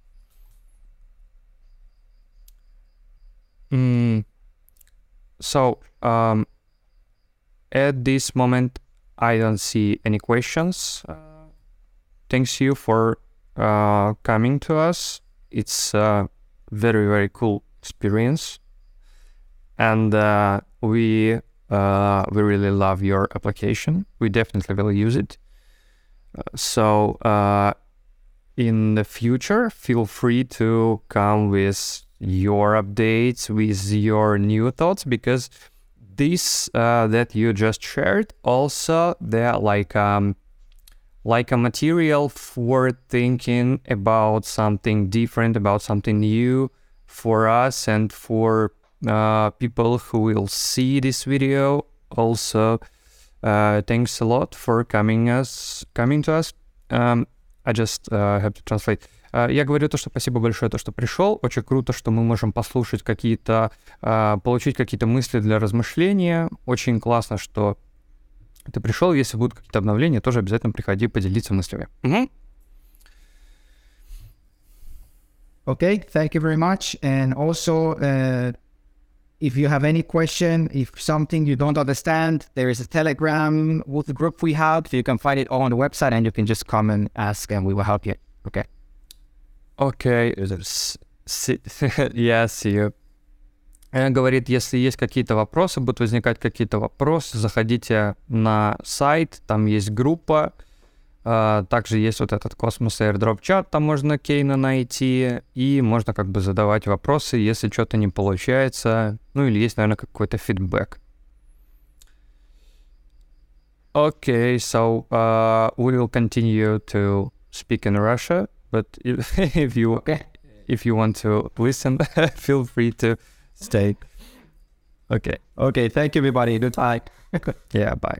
Mm. So, um, at this moment, I don't see any questions. Uh, thanks you for uh, coming to us. It's a very, very cool experience. And uh, we uh, we really love your application. We definitely will use it. Uh, so uh, in the future, feel free to come with your updates, with your new thoughts, because this uh, that you just shared also they're like um like a material for thinking about something different, about something new for us and for Uh, people who will see this video. Also, uh, thanks a lot for coming us, coming to us. Um, I just uh, have to translate. Uh, я говорю то, что спасибо большое, то, что пришел. Очень круто, что мы можем послушать какие-то, uh, получить какие-то мысли для размышления. Очень классно, что ты пришел. Если будут какие-то обновления, тоже обязательно приходи поделиться мыслями. Mm-hmm. Okay, thank you very much. And also, uh, if you have any question, if something you don't understand, there is a Telegram with the group we have. You can find it all on the website, and you can just come and ask, and we will help you. Okay. Okay. S- yeah, see you. Он говорит, если есть какие-то вопросы, будут возникать какие-то вопросы, заходите на сайт, там есть группа. Uh, также есть вот этот Cosmos Airdrop чат, там можно Кейна найти, и можно как бы задавать вопросы, если что-то не получается, ну или есть, наверное, какой-то фидбэк. Okay, so uh, we will continue to speak in Russia, but if, if you okay. if you want to listen, feel free to stay. Okay. Okay, thank you, everybody. Goodbye. Yeah, bye.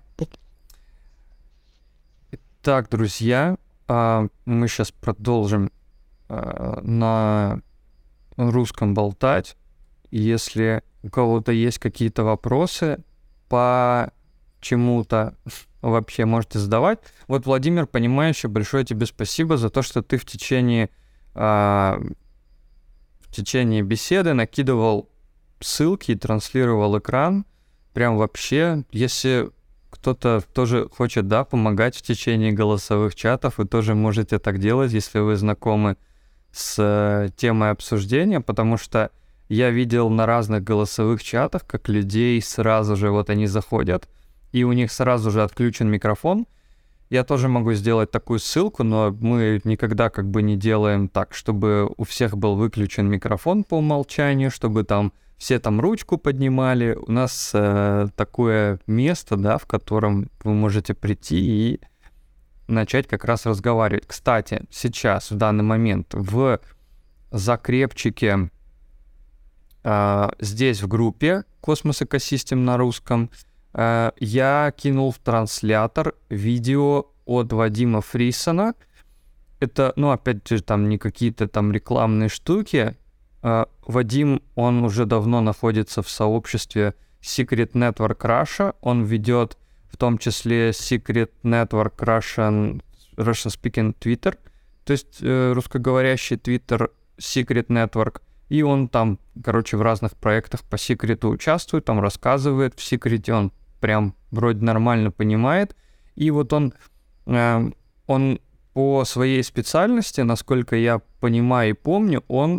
Так, друзья, мы сейчас продолжим на русском болтать. Если у кого-то есть какие-то вопросы по чему-то, вообще можете задавать. Вот, Владимир, понимающий, большое тебе спасибо за то, что ты в течение, в течение беседы накидывал ссылки и транслировал экран. Прям вообще, если... кто-то тоже хочет, да, помогать в течение голосовых чатов, вы тоже можете так делать, если вы знакомы с э, темой обсуждения, потому что я видел на разных голосовых чатах, как людей сразу же, вот они заходят, и у них сразу же отключен микрофон. Я тоже могу сделать такую ссылку, но мы никогда как бы не делаем так, чтобы у всех был выключен микрофон по умолчанию, чтобы там все там ручку поднимали. У нас э, такое место, да, в котором вы можете прийти и начать как раз разговаривать. Кстати, сейчас, в данный момент, в закрепчике э, здесь в группе Cosmos Ecosystem на русском э, я кинул в транслятор видео от Вадима Фрисона. Это, ну, опять же, там не какие-то там рекламные штуки. Э, Вадим, он уже давно находится в сообществе Secret Network Russia. Он ведет в том числе Secret Network Russian, Russian Speaking Twitter, то есть э, русскоговорящий Twitter Secret Network. И он там, короче, в разных проектах по секрету участвует, там рассказывает. В секрете он прям вроде нормально понимает. И вот он, э, он по своей специальности, насколько я понимаю и помню, он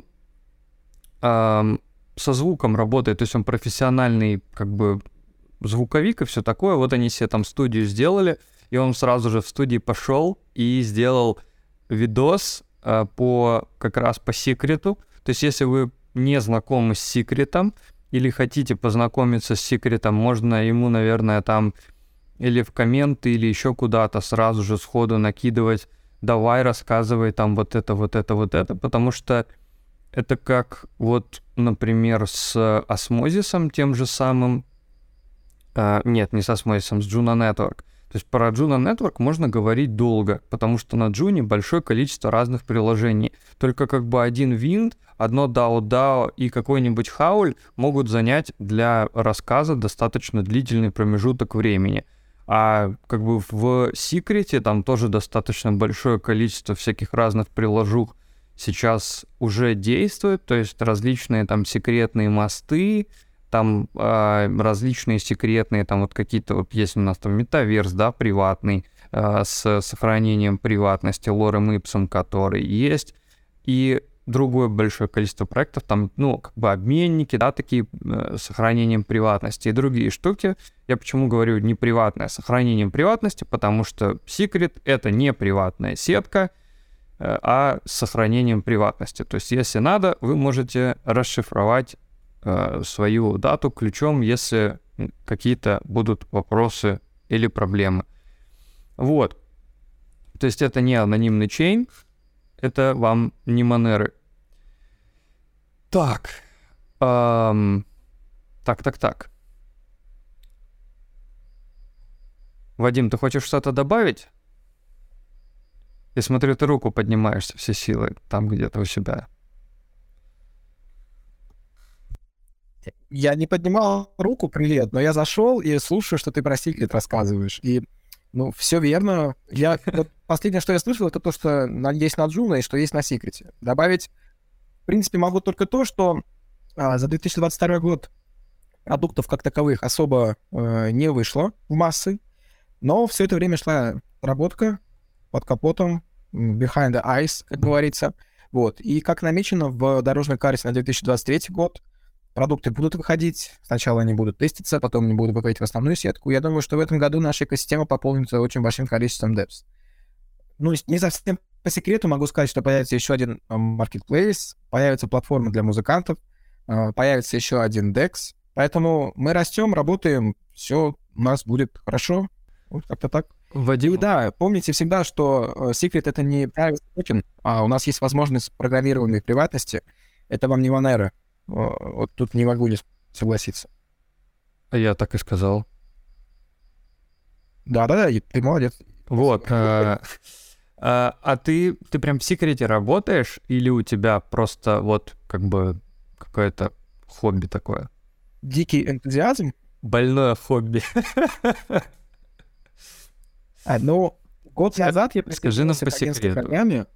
э, со звуком работает, то есть он профессиональный как бы звуковик и все такое. Вот они себе там студию сделали, и он сразу же в студии пошел и сделал видос э, по как раз по секрету. То есть если вы не знакомы с секретом или хотите познакомиться с секретом, можно ему, наверное, там или в комменты, или еще куда-то сразу же сходу накидывать: давай, рассказывай там вот это, вот это, вот это, потому что это как вот, например, с осмозисом тем же самым. Uh, нет, не с осмозисом, с Juno Network. То есть про Juno Network можно говорить долго, потому что на Juno большое количество разных приложений. Только как бы один винт, одно дао дао и какой-нибудь хауль могут занять для рассказа достаточно длительный промежуток времени. А как бы в секрете там тоже достаточно большое количество всяких разных приложух сейчас уже действует, то есть различные там секретные мосты, там э, различные секретные, там вот какие-то, вот есть у нас там метаверс, да, приватный, э, с сохранением приватности, лорем ипсом, который есть, и другое большое количество проектов, там, ну, как бы обменники, да, такие э, с сохранением приватности и другие штуки. Я почему говорю не приватное, а сохранением приватности, потому что секрет — это не приватная сетка, э, а с сохранением приватности. То есть, если надо, вы можете расшифровать свою дату ключом, если какие-то будут вопросы или проблемы. Вот. То есть это не анонимный чейн, это вам не Monero. Так. Эм, так, так, так. Вадим, ты хочешь что-то добавить? Я смотрю, ты руку поднимаешь со всей силы там где-то у себя. Я не поднимал руку, привет, но я зашел и слушаю, что ты про секрет рассказываешь. И, ну, все верно. Я, вот последнее, что я слышал, это то, что есть на Juno и что есть на секрете. Добавить, в принципе, могу только то, что а, за две тысячи двадцать второй год продуктов как таковых особо э, не вышло в массы, но все это время шла работка под капотом, behind the eyes, как говорится. Вот. И как намечено в дорожной карте на две тысячи двадцать третий год, продукты будут выходить, сначала они будут теститься, потом они будут выходить в основную сетку. Я думаю, что в этом году наша экосистема пополнится очень большим количеством депс. Ну, не совсем по секрету могу сказать, что появится еще один marketplace, появится платформа для музыкантов, появится еще один декс. Поэтому мы растем, работаем, все у нас будет хорошо. Вот как-то так. Вадим... И да, помните всегда, что Secret — это не private token, а у нас есть возможность программирования приватности. Это вам не Monero. Вот тут не могу не согласиться. А я так и сказал. Да-да-да, ты молодец. Вот. А, а, а ты, ты прям в секрете работаешь или у тебя просто вот как бы какое-то хобби такое? Дикий энтузиазм? Больное хобби. А, ну, год назад я присоединился к агентской программе.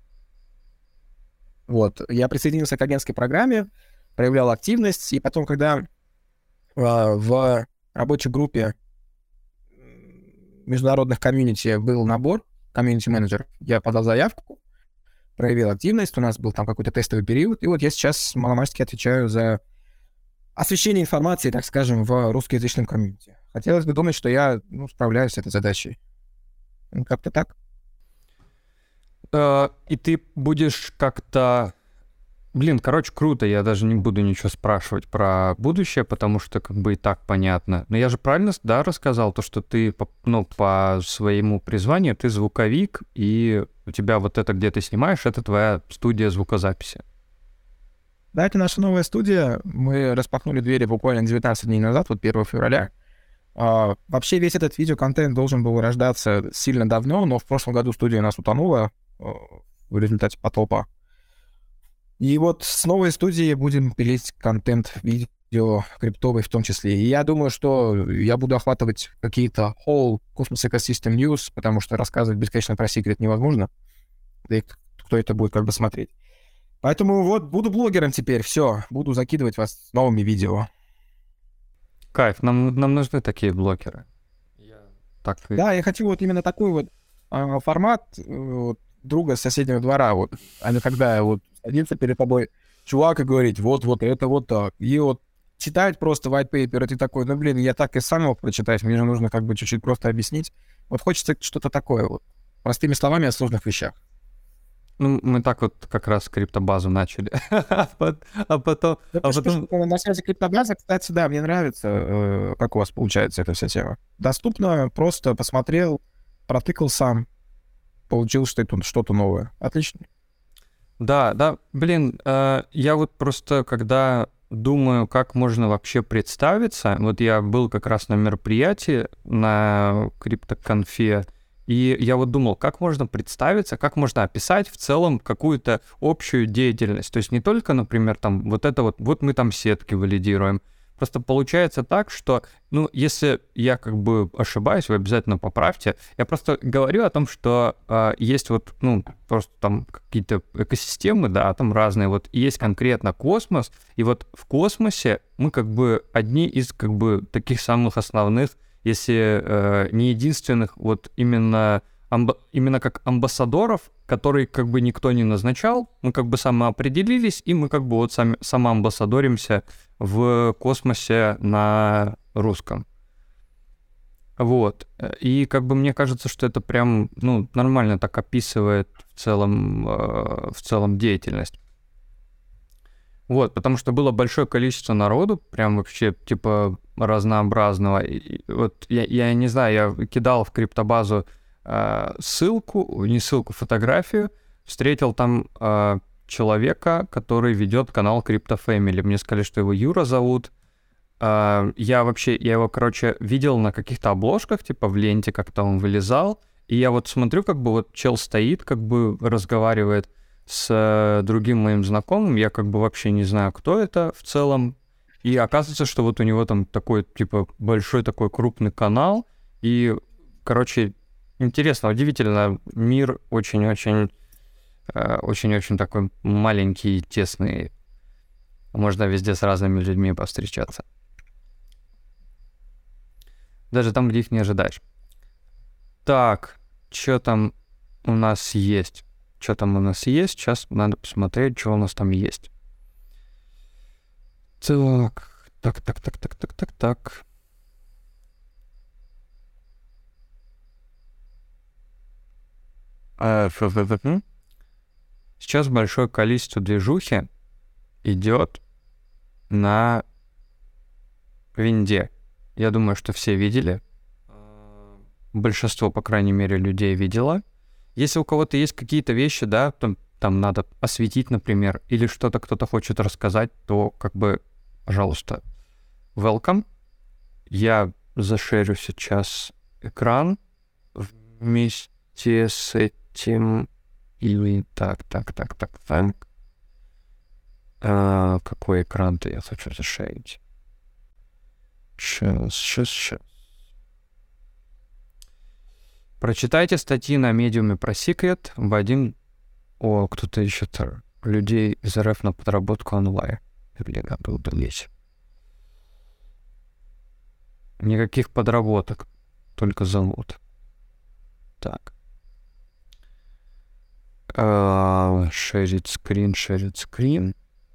Вот, я присоединился к агентской программе, проявлял активность, и потом, когда э, в рабочей группе международных комьюнити был набор, комьюнити-менеджер, я подал заявку, проявил активность, у нас был там какой-то тестовый период, и вот я сейчас маломальски отвечаю за освещение информации, так скажем, в русскоязычном комьюнити. Хотелось бы думать, что я ну, справляюсь с этой задачей. Ну, как-то так. Uh, и ты будешь как-то Блин, короче, круто, я даже не буду ничего спрашивать про будущее, потому что как бы и так понятно. Но я же правильно, да, рассказал то, что ты, по- ну, по своему призванию ты звуковик, и у тебя вот это, где ты снимаешь, это твоя студия звукозаписи. Да, это наша новая студия. Мы распахнули двери буквально девятнадцать дней назад, вот первого февраля. А, вообще весь этот видеоконтент должен был рождаться сильно давно, но в прошлом году студия у нас утонула э, в результате потопа. И вот с новой студии будем пилить контент, видео, криптовый в том числе. И я думаю, что я буду охватывать какие-то whole Cosmos Ecosystem News, потому что рассказывать бесконечно про секрет невозможно. Да и кто это будет как бы смотреть. Поэтому вот буду блогером теперь, все. Буду закидывать вас с новыми видео. Кайф, нам, нам нужны такие блокеры. Так и... Да, я хочу вот именно такой вот а, формат э, вот, друга с соседнего двора, вот, а не когда вот садится перед тобой чувак и говорит, вот, вот, это вот так. И вот читать просто white paper, и ты такой, ну, блин, я так и сам мог прочитать, мне же нужно как бы чуть-чуть просто объяснить. Вот хочется что-то такое вот, простыми словами о сложных вещах. Ну, мы так вот как раз криптобазу начали. А пот- а потом... а потом... На связи криптобаза, кстати, да, мне нравится, э, как у вас получается эта вся тема. Доступно, просто посмотрел, протыкал сам, получил что-то, что-то новое. Отлично. Да, да, блин, э, я вот просто, когда думаю, как можно вообще представиться, вот я был как раз на мероприятии на криптоконфе, и я вот думал, как можно представиться, как можно описать в целом какую-то общую деятельность. То есть не только, например, там вот это вот, вот мы там сетки валидируем. Просто получается так, что, ну, если я как бы ошибаюсь, вы обязательно поправьте. Я просто говорю о том, что э, есть вот, ну, просто там какие-то экосистемы, да, там разные. Вот и есть конкретно космос, и вот в космосе мы как бы одни из как бы таких самых основных, если э, не единственных, вот именно, амба- именно как амбассадоров, которые как бы никто не назначал, мы как бы самоопределились, и мы как бы вот сами, самоамбассадоримся в космосе на русском. Вот. И как бы мне кажется, что это прям, ну, нормально так описывает в целом, э, в целом деятельность. Вот, потому что было большое количество народу, прям вообще, типа, разнообразного. И вот я, я не знаю, я кидал в криптобазу э, ссылку, не ссылку, фотографию, встретил там э, человека, который ведет канал Crypto Family. Мне сказали, что его Юра зовут. Э, я вообще, я его, короче, видел на каких-то обложках, типа в ленте как-то он вылезал. И я вот смотрю, как бы вот чел стоит, как бы разговаривает с другим моим знакомым, я как бы вообще не знаю, кто это в целом, и оказывается, что вот у него там такой, типа, большой такой крупный канал, и, короче, интересно, удивительно, мир очень-очень, очень-очень такой маленький, тесный, можно везде с разными людьми повстречаться. Даже там, где их не ожидаешь. Так, что там у нас есть? Что там у нас есть? Сейчас надо посмотреть, что у нас там есть. Так, так, так, так, так, так, так, так. Сейчас большое количество движухи идет на винде. Я думаю, что все видели. Большинство, по крайней мере, людей видело. Если у кого-то есть какие-то вещи, да, там, там надо осветить, например, или что-то кто-то хочет рассказать, то как бы, пожалуйста, welcome. Я зашерю сейчас экран вместе с этим. Или так, так, так, так, так. А, какой экран-то я хочу зашерить? Сейчас, сейчас, сейчас. Прочитайте статьи на медиуме про секрет. Вадим... О, кто-то ищет людей из РФ на подработку онлайн. Блин, был бы лечь. Никаких подработок. Только зовут. Так. Шерить скрин, шерить скрин.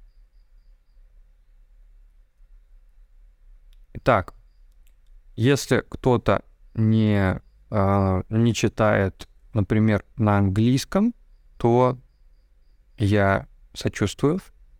Итак. Если кто-то не... не читает, например, на английском, то я сочувствую.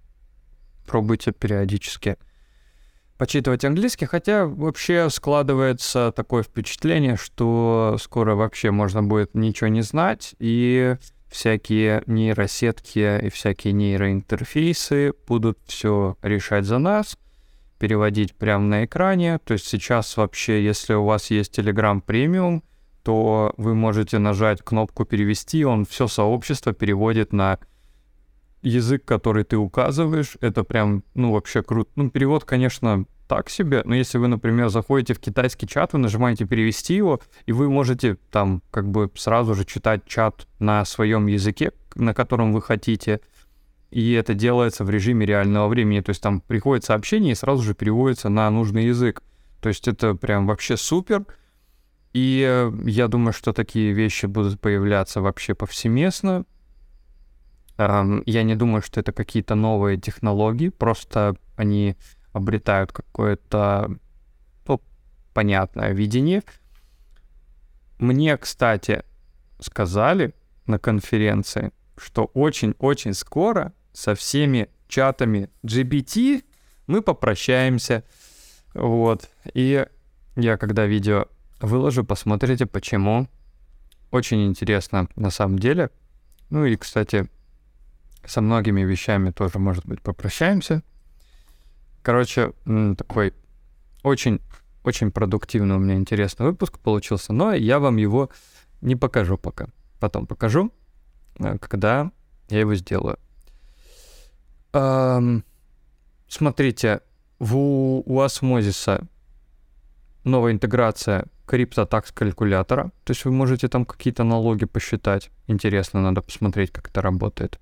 пробуйте периодически почитывать английский, хотя вообще складывается такое впечатление, что скоро вообще можно будет ничего не знать, и всякие нейросетки и всякие нейроинтерфейсы будут все решать за нас, переводить прямо на экране. То есть сейчас вообще, если у вас есть Telegram Premium, то вы можете нажать кнопку «Перевести», он все сообщество переводит на язык, который ты указываешь. Это прям, ну, вообще круто. Ну, перевод, конечно, так себе, но если вы, например, заходите в китайский чат, вы нажимаете «Перевести» его, и вы можете там как бы сразу же читать чат на своем языке, на котором вы хотите, и это делается в режиме реального времени. То есть там приходит сообщение и сразу же переводится на нужный язык. То есть это прям вообще супер. И я думаю, что такие вещи будут появляться вообще повсеместно. Я не думаю, что это какие-то новые технологии, просто они обретают какое-то, ну, понятное видение. Мне, кстати, сказали на конференции, что очень-очень скоро со всеми чатами джи пи ти мы попрощаемся. Вот. И я когда видео выложу, посмотрите, почему. Очень интересно на самом деле. Ну и, кстати, со многими вещами тоже, может быть, попрощаемся. Короче, такой очень, очень продуктивный у меня интересный выпуск получился, но я вам его не покажу пока. Потом покажу, когда я его сделаю. Эм, смотрите, в, у Osmosis новая интеграция CryptoTax калькулятора, то есть вы можете там какие-то налоги посчитать. Интересно, надо посмотреть, как это работает.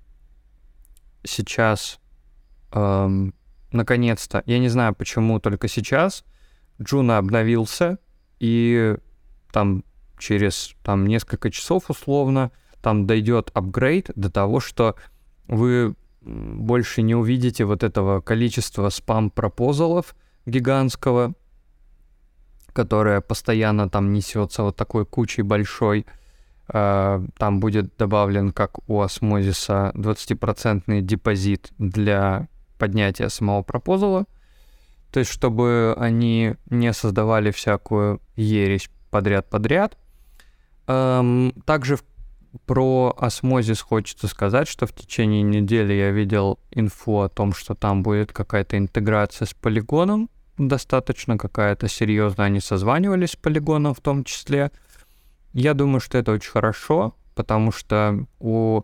Сейчас, эм, наконец-то, я не знаю, почему только сейчас, Juno обновился, и там через там, несколько часов условно там дойдет апгрейд до того, что вы больше не увидите вот этого количества спам-пропозалов гигантского, которое постоянно там несется вот такой кучей большой. Там будет добавлен, как у Osmosis, двадцатипроцентный депозит для поднятия самого пропозала. То есть, чтобы они не создавали всякую ересь подряд-подряд. Также про Osmosis хочется сказать, что в течение недели я видел инфу о том, что там будет какая-то интеграция с Polygon, достаточно какая-то серьезная. Они созванивались с Polygon в том числе. Я думаю, что это очень хорошо, потому что у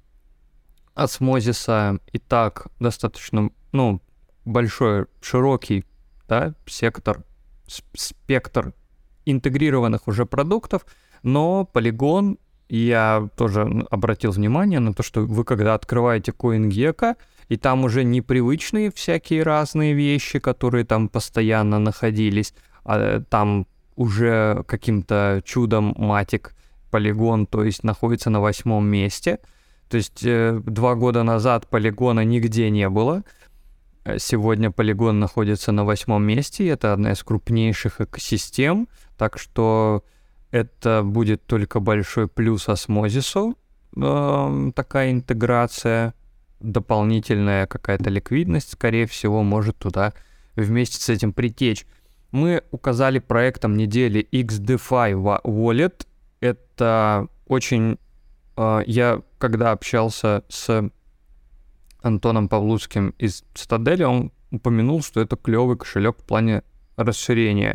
Osmosis и так достаточно, ну, большой, широкий, да, сектор, спектр интегрированных уже продуктов, но Polygon, я тоже обратил внимание на то, что вы когда открываете CoinGecko, и там уже непривычные всякие разные вещи, которые там постоянно находились, а там уже каким-то чудом матик Polygon, то есть находится на восьмом месте. То есть э, два года назад Polygon нигде не было. Сегодня Polygon находится на восьмом месте, и это одна из крупнейших экосистем, так что это будет только большой плюс Osmosis, э, такая интеграция, дополнительная какая-то ликвидность, скорее всего, может туда вместе с этим притечь. Мы указали проектом недели икс ди эф ай Wallet. Это очень... Э, я когда общался с Антоном Павлуцким из Цитадели, он упомянул, что это клевый кошелек в плане расширения.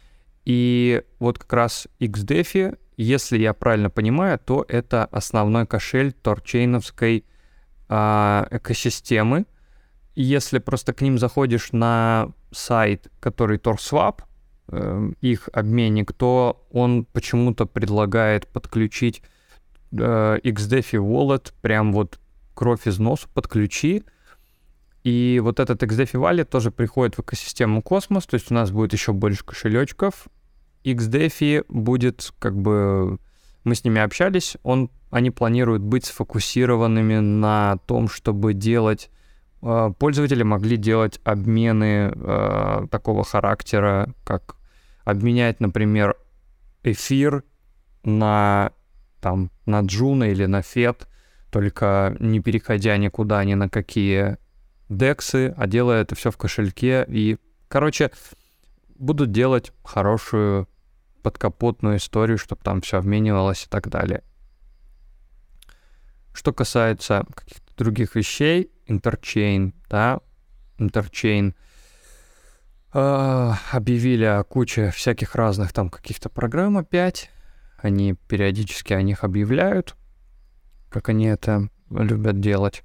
И вот как раз икс ди эф ай, если я правильно понимаю, то это основной кошель торчейновской э, экосистемы. И если просто к ним заходишь на сайт, который TorSwap, э, их обменник, то он почему-то предлагает подключить э, икс ди эф ай Wallet, прям вот кровь из носу подключи. И вот этот икс ди эф ай Wallet тоже приходит в экосистему Cosmos, то есть у нас будет еще больше кошелечков. икс ди эф ай будет, как бы, мы с ними общались, он, они планируют быть сфокусированными на том, чтобы делать, э, пользователи могли делать обмены э, такого характера, как обменять, например, эфир на, там, на Juno или на Фед, только не переходя никуда, ни на какие дексы, а делая это все в кошельке. И, короче, будут делать хорошую подкапотную историю, чтобы там все обменивалось и так далее. Что касается каких-то других вещей, Interchain, да, Interchain э, объявили о куче всяких разных там каких-то программ опять. Они периодически о них объявляют, как они это любят делать.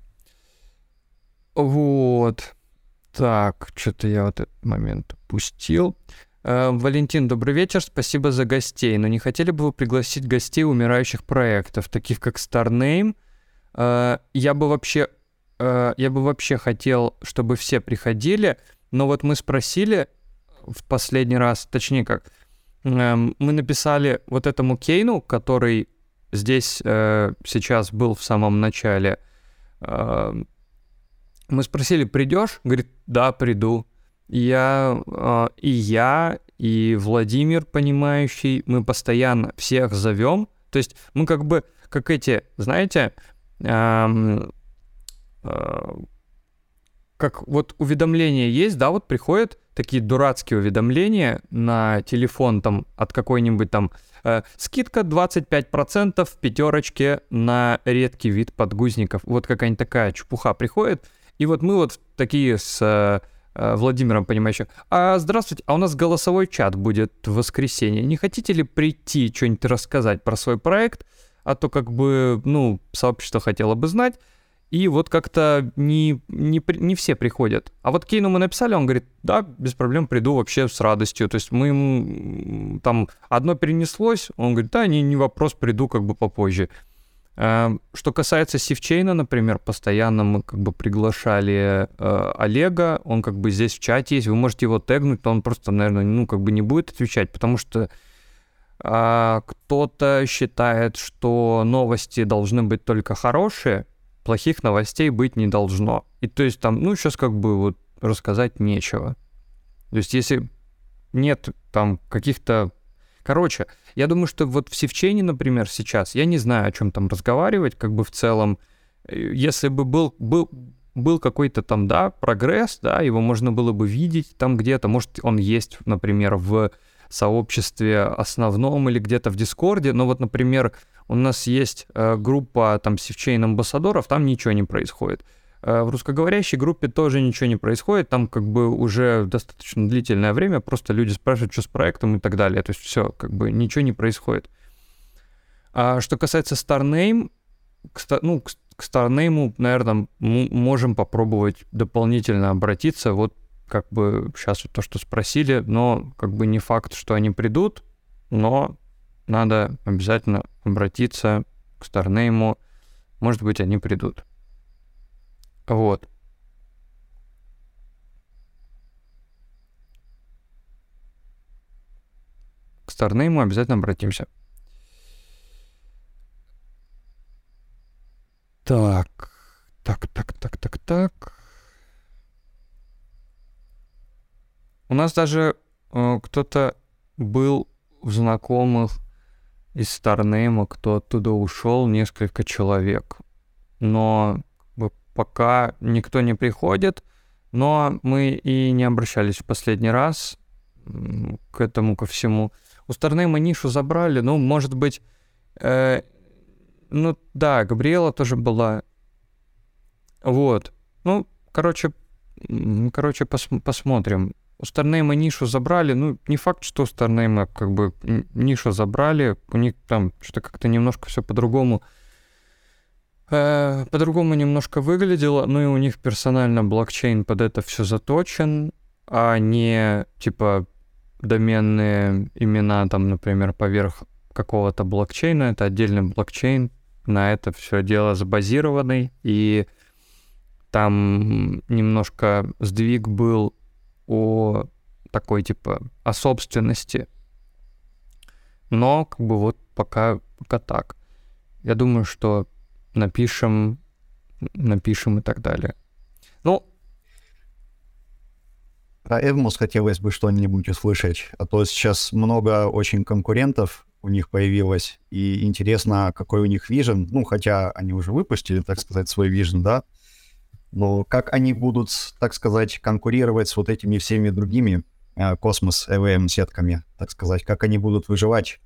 Вот. Так, что-то я вот этот момент упустил. Э, Валентин, добрый вечер, спасибо за гостей. Но не хотели бы вы пригласить гостей умирающих проектов, таких как StarName? Э, я бы вообще, э, я бы вообще хотел, чтобы все приходили, но вот мы спросили в последний раз, точнее как, э, мы написали вот этому Кейну, который здесь э, сейчас был в самом начале, э, мы спросили, придешь? Говорит, да, приду. Я, э, и я, и Владимир, понимающий, мы постоянно всех зовем. То есть мы как бы, как эти, знаете, э, э, как вот уведомления есть, да, вот приходят такие дурацкие уведомления на телефон там от какой-нибудь там э, скидка двадцать пять процентов в пятерочке на редкий вид подгузников. Вот какая-нибудь такая чепуха приходит. И вот мы вот такие с э, Владимиром, понимающим, а здравствуйте, а у нас голосовой чат будет в воскресенье. Не хотите ли прийти, что-нибудь рассказать про свой проект? А то как бы, ну, сообщество хотело бы знать. И вот как-то не, не, не все приходят. А вот Кейну мы написали, он говорит, да, без проблем приду вообще с радостью. То есть мы ему там одно перенеслось, он говорит, да, не, не вопрос, приду как бы попозже. Что касается Сивчейна, например, постоянно мы как бы приглашали э, Олега, он как бы здесь в чате есть, вы можете его тегнуть, то он просто, наверное, ну как бы не будет отвечать, потому что э, кто-то считает, что новости должны быть только хорошие, плохих новостей быть не должно. И то есть там, ну сейчас как бы вот рассказать нечего. То есть если нет там каких-то... Короче, я думаю, что вот в Сивчейне, например, сейчас, я не знаю, о чем там разговаривать, как бы в целом, если бы был, был, был какой-то там, да, прогресс, да, его можно было бы видеть там где-то, может, он есть, например, в сообществе основном или где-то в Дискорде, но вот, например, у нас есть э, группа там Сивчейн амбассадоров, там ничего не происходит. В русскоговорящей группе тоже ничего не происходит, там как бы уже достаточно длительное время, просто люди спрашивают, что с проектом и так далее, то есть все, как бы ничего не происходит. А что касается StarName, к, ну, к, к StarName, наверное, мы можем попробовать дополнительно обратиться, вот как бы сейчас вот то, что спросили, но как бы не факт, что они придут, но надо обязательно обратиться к StarName, может быть, они придут. Вот. К StarName обязательно обратимся. Так, так, так, так, так, так. У нас даже э, кто-то был в знакомых из StarName, кто оттуда ушел, несколько человек. Но пока никто не приходит, но мы и не обращались в последний раз к этому, ко всему. У StarName нишу забрали, ну, может быть, э, ну, да, Габриэла тоже была. Вот. Ну, короче, короче пос- посмотрим. У StarName нишу забрали, ну, не факт, что у StarName как бы нишу забрали, у них там что-то как-то немножко все по-другому по-другому немножко выглядело, ну и у них персонально блокчейн под это все заточен, а не типа доменные имена там, например, поверх какого-то блокчейна, это отдельный блокчейн, на это все дело забазированный, и там немножко сдвиг был о такой типа о собственности, но как бы вот пока, пока так. Я думаю, что напишем, напишем и так далее. Ну, про Эвмос хотелось бы что-нибудь услышать, а то сейчас много очень конкурентов у них появилось, и интересно, какой у них вижен, ну, хотя они уже выпустили, так сказать, свой вижен, да, Но как они будут, так сказать, конкурировать с вот этими всеми другими э, космос и ви эм-сетками, так сказать, как они будут выживать,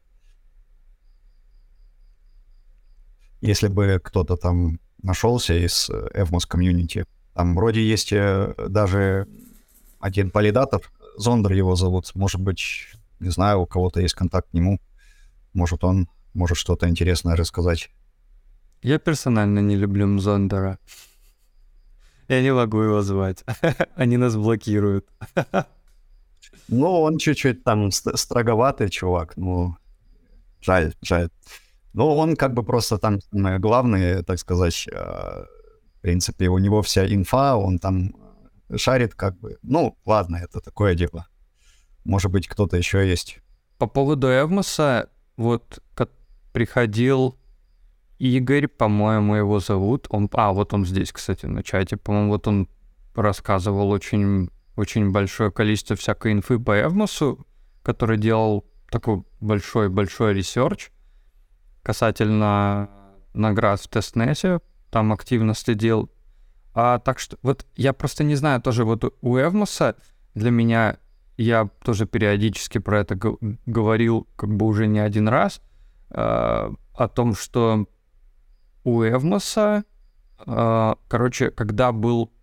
если бы кто-то там нашелся из Evmos комьюнити. Там вроде есть э, даже один валидатор, Зондер его зовут. Может быть, не знаю, у кого-то есть контакт к нему. Может, он может что-то интересное рассказать. Я персонально не люблю Зондера. Я не могу его звать. Они нас блокируют. Ну, он чуть-чуть там ст- строговатый чувак. Ну, жаль, жаль. Но он как бы просто там самое главное, так сказать, э, в принципе, у него вся инфа, он там шарит как бы. Ну, ладно, это такое дело. Может быть, кто-то еще есть. По поводу Эвмоса, вот как приходил Игорь, по-моему, его зовут. Он, а, вот он здесь, кстати, на чате. По-моему, вот он рассказывал очень, очень большое количество всякой инфы по Эвмосу, который делал такой большой-большой ресерч касательно наград в тестнете. Там активно следил. А, так что вот я просто не знаю, тоже вот у Эвмоса для меня, я тоже периодически про это г- говорил как бы уже не один раз, э, о том, что у Эвмоса, э, короче, когда был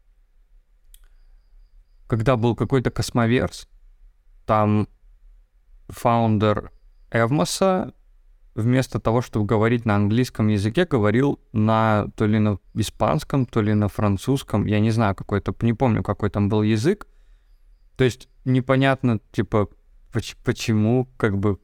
когда был какой-то космоверс, там фаундер Эвмоса вместо того, чтобы говорить на английском языке, говорил на то ли на испанском, то ли на французском, я не знаю, какой-то, не помню, какой там был язык. То есть непонятно, типа, поч- почему, как бы.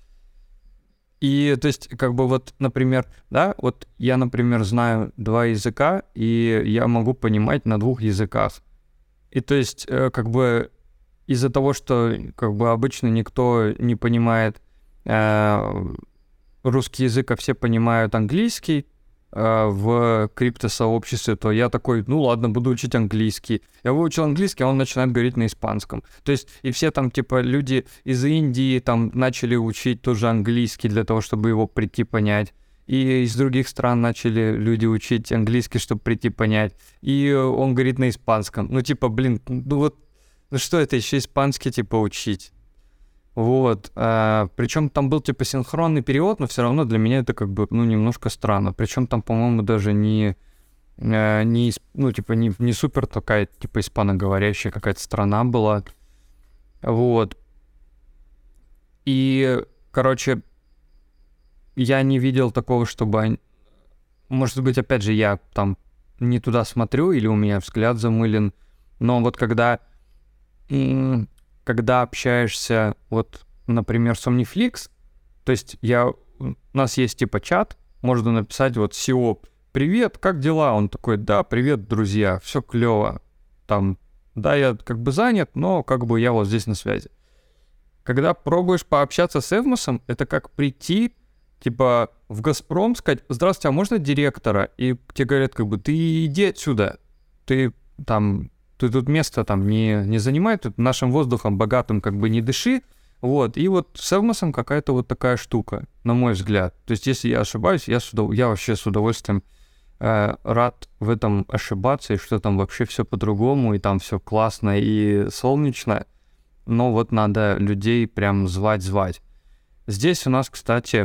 И, то есть, как бы вот, например, да, вот я, например, знаю два языка, и я могу понимать на двух языках. И, то есть, э, как бы из-за того, что, как бы, обычно никто не понимает э, русский язык, а все понимают английский э, в криптосообществе, то я такой, ну ладно, буду учить английский. Я выучил английский, а он начинает говорить на испанском. То есть и все там, типа, люди из Индии там начали учить тоже английский для того, чтобы его прийти понять. И из других стран начали люди учить английский, чтобы прийти понять. И он говорит на испанском. Ну, типа, блин, ну вот, ну что это еще испанский, типа, учить? Вот, а, причем там был типа синхронный перевод, но все равно для меня это как бы, ну, немножко странно. Причем там, по-моему, даже не, э, не исп- ну, типа, не, не супер такая, типа, испаноговорящая какая-то страна была. Вот. И, короче, я не видел такого, чтобы... они- Может быть, опять же, я там не туда смотрю, или у меня взгляд замылен, но вот когда... м, когда общаешься, вот, например, с Omniflix, то есть я, у нас есть типа чат, можно написать вот си и о, привет, как дела? Он такой, да, привет, друзья, все клево. Там, да, я как бы занят, но как бы я вот здесь на связи. Когда пробуешь пообщаться с Эвмосом, это как прийти, типа, в Газпром, сказать, здравствуйте, а можно директора? И тебе говорят, как бы, ты иди отсюда, ты там... ты тут место там не, не занимай, тут нашим воздухом богатым как бы не дыши, вот, и вот с Эвмосом какая-то вот такая штука, на мой взгляд. То есть, если я ошибаюсь, я, с удов... я вообще с удовольствием э, рад в этом ошибаться, и что там вообще все по-другому, и там все классно и солнечно, но вот надо людей прям звать-звать. Здесь у нас, кстати,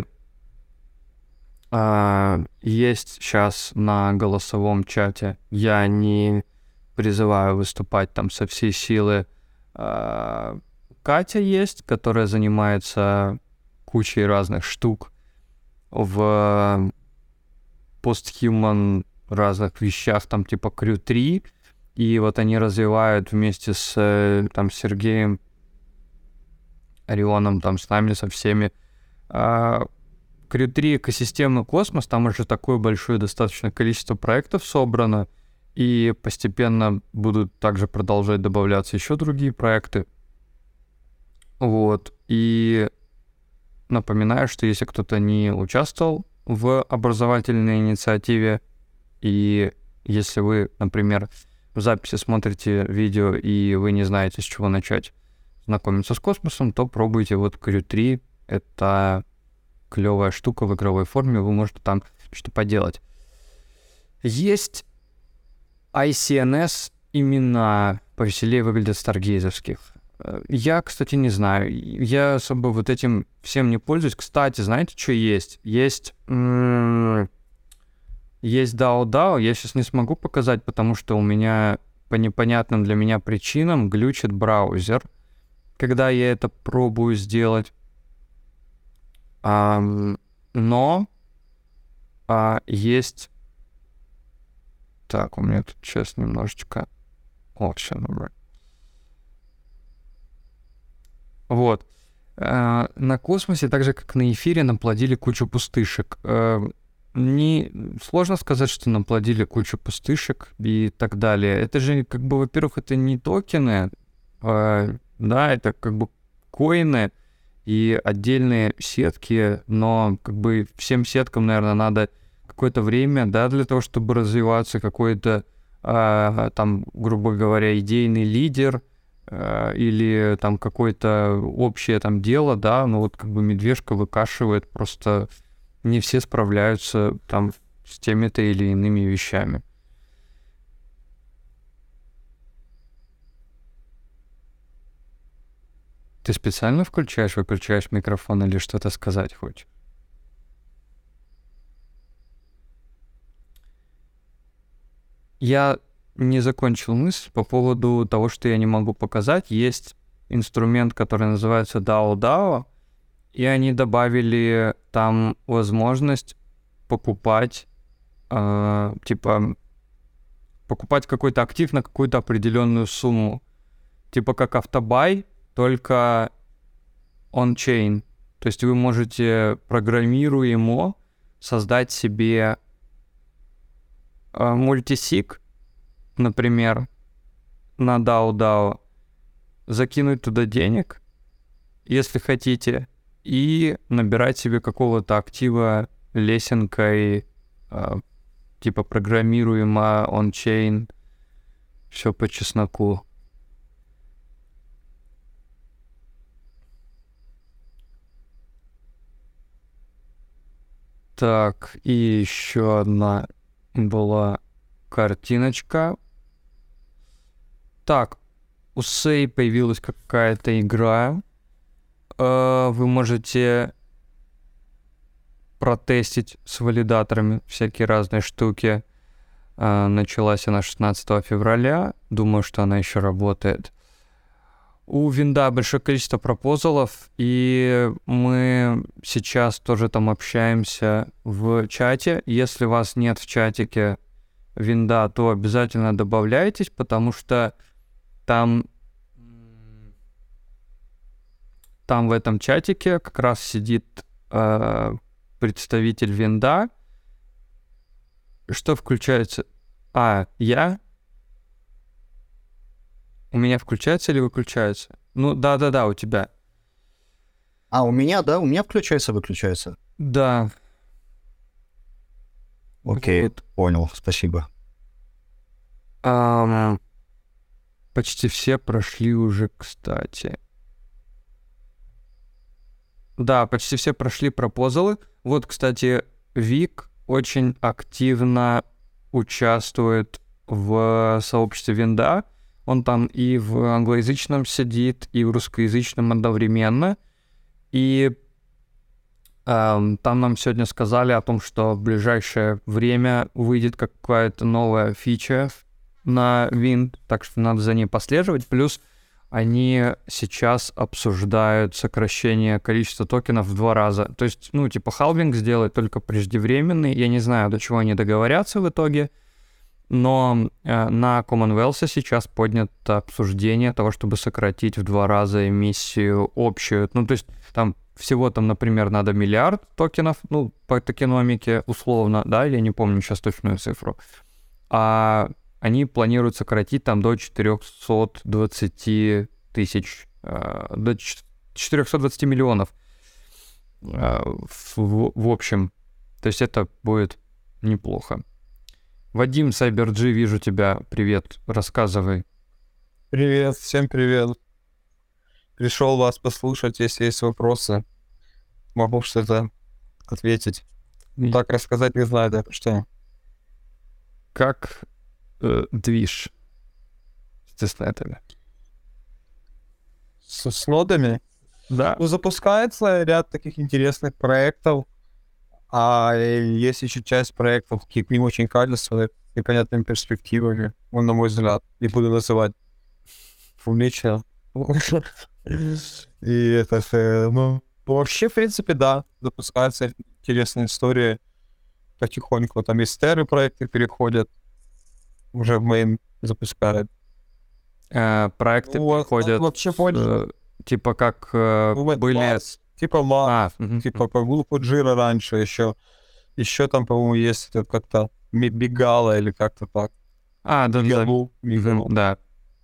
э, есть сейчас на голосовом чате, я не... призываю выступать там со всей силы. А, Катя есть, которая занимается кучей разных штук в постхуман разных вещах, там типа крю три, и вот они развивают вместе с там Сергеем Орионом, там с нами, со всеми. крю три экосистемный космос, там уже такое большое достаточно количество проектов собрано, и постепенно будут также продолжать добавляться еще другие проекты. Вот. И напоминаю, что если кто-то не участвовал в образовательной инициативе, и если вы, например, в записи смотрите видео, и вы не знаете, с чего начать знакомиться с космосом, то пробуйте вот крю три. Это клевая штука в игровой форме, вы можете там что-то поделать. Есть ай си эн эс имена повеселее выглядят старгейзовских. Я, кстати, не знаю. Я особо вот этим всем не пользуюсь. Кстати, знаете, что есть? Есть... М- есть дао дао. Я сейчас не смогу показать, потому что у меня по непонятным для меня причинам глючит браузер, когда я это пробую сделать. А, но а, есть... Так, у меня тут сейчас немножечко... О, все, набрать. Вот. А, на космосе, так же, как на эфире, наплодили кучу пустышек. А, не... Сложно сказать, что наплодили кучу пустышек и так далее. Это же, как бы, во-первых, это не токены, а, да, это как бы коины и отдельные сетки, но как бы всем сеткам, наверное, надо какое-то время, да, для того, чтобы развиваться, какой-то, а, там, грубо говоря, идейный лидер, а, или там какое-то общее там дело, да, ну вот как бы медвежка выкашивает, просто не все справляются там с теми-то или иными вещами. Ты специально включаешь, выключаешь микрофон или что-то сказать хочешь? Я не закончил мысль по поводу того, что я не могу показать. Есть инструмент, который называется дао дао, и они добавили там возможность покупать, э, типа, покупать какой-то актив на какую-то определенную сумму. Типа как автобай, только on-chain. То есть вы можете программируемо создать себе э, мультисиг, например, на дао дао, закинуть туда денег, если хотите, и набирать себе какого-то актива лесенкой, э, типа программируемо, on-chain, все по чесноку. Так, и еще одна была картиночка. Так, у Сэй появилась какая-то игра. Э, вы можете протестить с валидаторами всякие разные штуки. Э, началась она шестнадцатого февраля. Думаю, что она еще работает. У Винда большое количество пропозалов, и мы сейчас тоже там общаемся в чате. Если вас нет в чатике Винда, то обязательно добавляйтесь, потому что там, там в этом чатике как раз сидит э, представитель Винда. Что включается? А, я... У меня включается или выключается? Ну, да-да-да, у тебя. А, у меня, да? У меня включается, выключается. Да. Окей, Вот. понял, спасибо. Ам, почти все прошли уже, кстати. Да, почти все прошли пропозалы. Вот, кстати, Вик очень активно участвует в сообществе Винда. Он там и в англоязычном сидит, и в русскоязычном одновременно. И эм, там нам сегодня сказали о том, что в ближайшее время выйдет какая-то новая фича на Wind, так что надо за ней послеживать. Плюс они сейчас обсуждают сокращение количества токенов в два раза. То есть, ну, типа, халвинг сделать только преждевременный. Я не знаю, до чего они договорятся в итоге. Но э, на Commonwealth сейчас поднято обсуждение того, чтобы сократить в два раза эмиссию общую. Ну, то есть там всего там, например, надо миллиард токенов, ну, по токеномике условно, да, я не помню сейчас точную цифру. А они планируют сократить там до четыреста двадцать тысяч, э, до четыреста двадцать миллионов э, в, в общем. То есть это будет неплохо. Вадим, CyberG, вижу тебя. Привет, рассказывай. Привет, всем привет. Пришел вас послушать, если есть вопросы. Могу что-то ответить. Так рассказать не знаю, да, что. Как э, движ с тестнетами? С, с нодами? Да. Ну, запускается ряд таких интересных проектов, а есть еще часть проектов, каких не очень качественных и понятными перспективами, ну, на мой взгляд, не буду называть публично. И это, э, ну, вообще, в принципе, да, запускаются интересные истории потихоньку. Там из Терры проекты переходят, уже в мейн запускают. Э, проекты Ну, приходят, вообще больше. э, типа как э, Ну, вот были... Mars, типа Mars, А, мгм. типа по группу Джира раньше еще. Еще там, по-моему, есть это как-то Ми- Бигала или как-то так. А, да, да, Мигалу, мгм, Мигалу. да.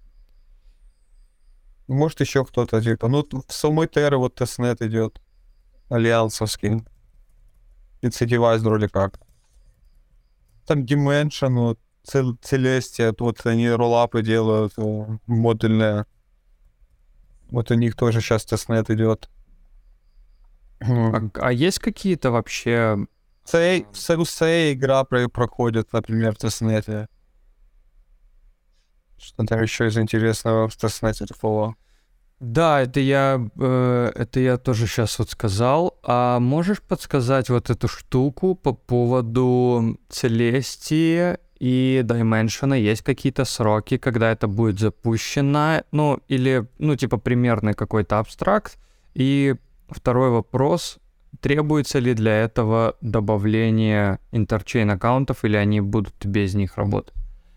Может, еще кто-то, типа. Ну, т- в самой Терре вот тестнет идет. Альянсовский. Инцидивайз вроде как. Там Dimension, вот, Cel- Celestia, вот они роллапы делают, э, модульные. Вот у них тоже сейчас тестнет идет. А, а есть какие-то вообще... Сэй, в Сэй игра про- проходит, например, в тестнете. Что там еще из интересного в тестнете такого? Да, это я, э, это я тоже сейчас вот сказал. А можешь подсказать вот эту штуку по поводу Целестии и Dimension? Есть какие-то сроки, когда это будет запущено? Ну, или, ну, типа, примерный какой-то абстракт. И второй вопрос. Требуется ли для этого добавление интерчейн аккаунтов, или они будут без них работать?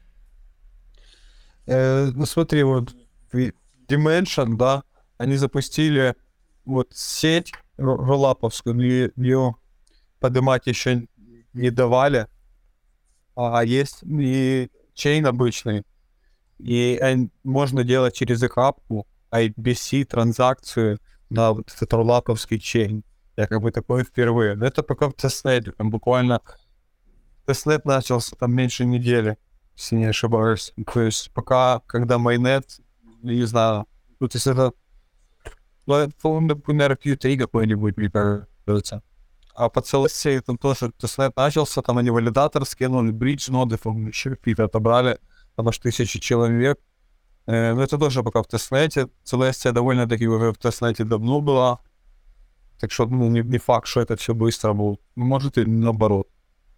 Э, ну смотри, вот в Dimension, да, они запустили вот сеть ро- роллаповскую, но е- ее поднимать еще не давали, а есть и чейн обычный, и эн- можно делать через их апку ай би си транзакцию на вот этот роллаповский чейн. Я как бы такое впервые. Но это пока в тестнете, там буквально тестнет начался там меньше недели, если не ошибаюсь. То есть пока, когда майнет, не знаю, ну, то есть это, ну, это, по-моему, например, кью три какой-нибудь, мне кажется. А по целости там тоже тестнет начался, там они валидатор скинули, бридж ноды, по-моему, еще какие-то отобрали, там аж тысячи человек. Э, но это тоже пока в тестнете. Целестия довольно-таки уже в тестнете давно была. Так что, ну, не, не факт, что это все быстро будет. Может, и наоборот.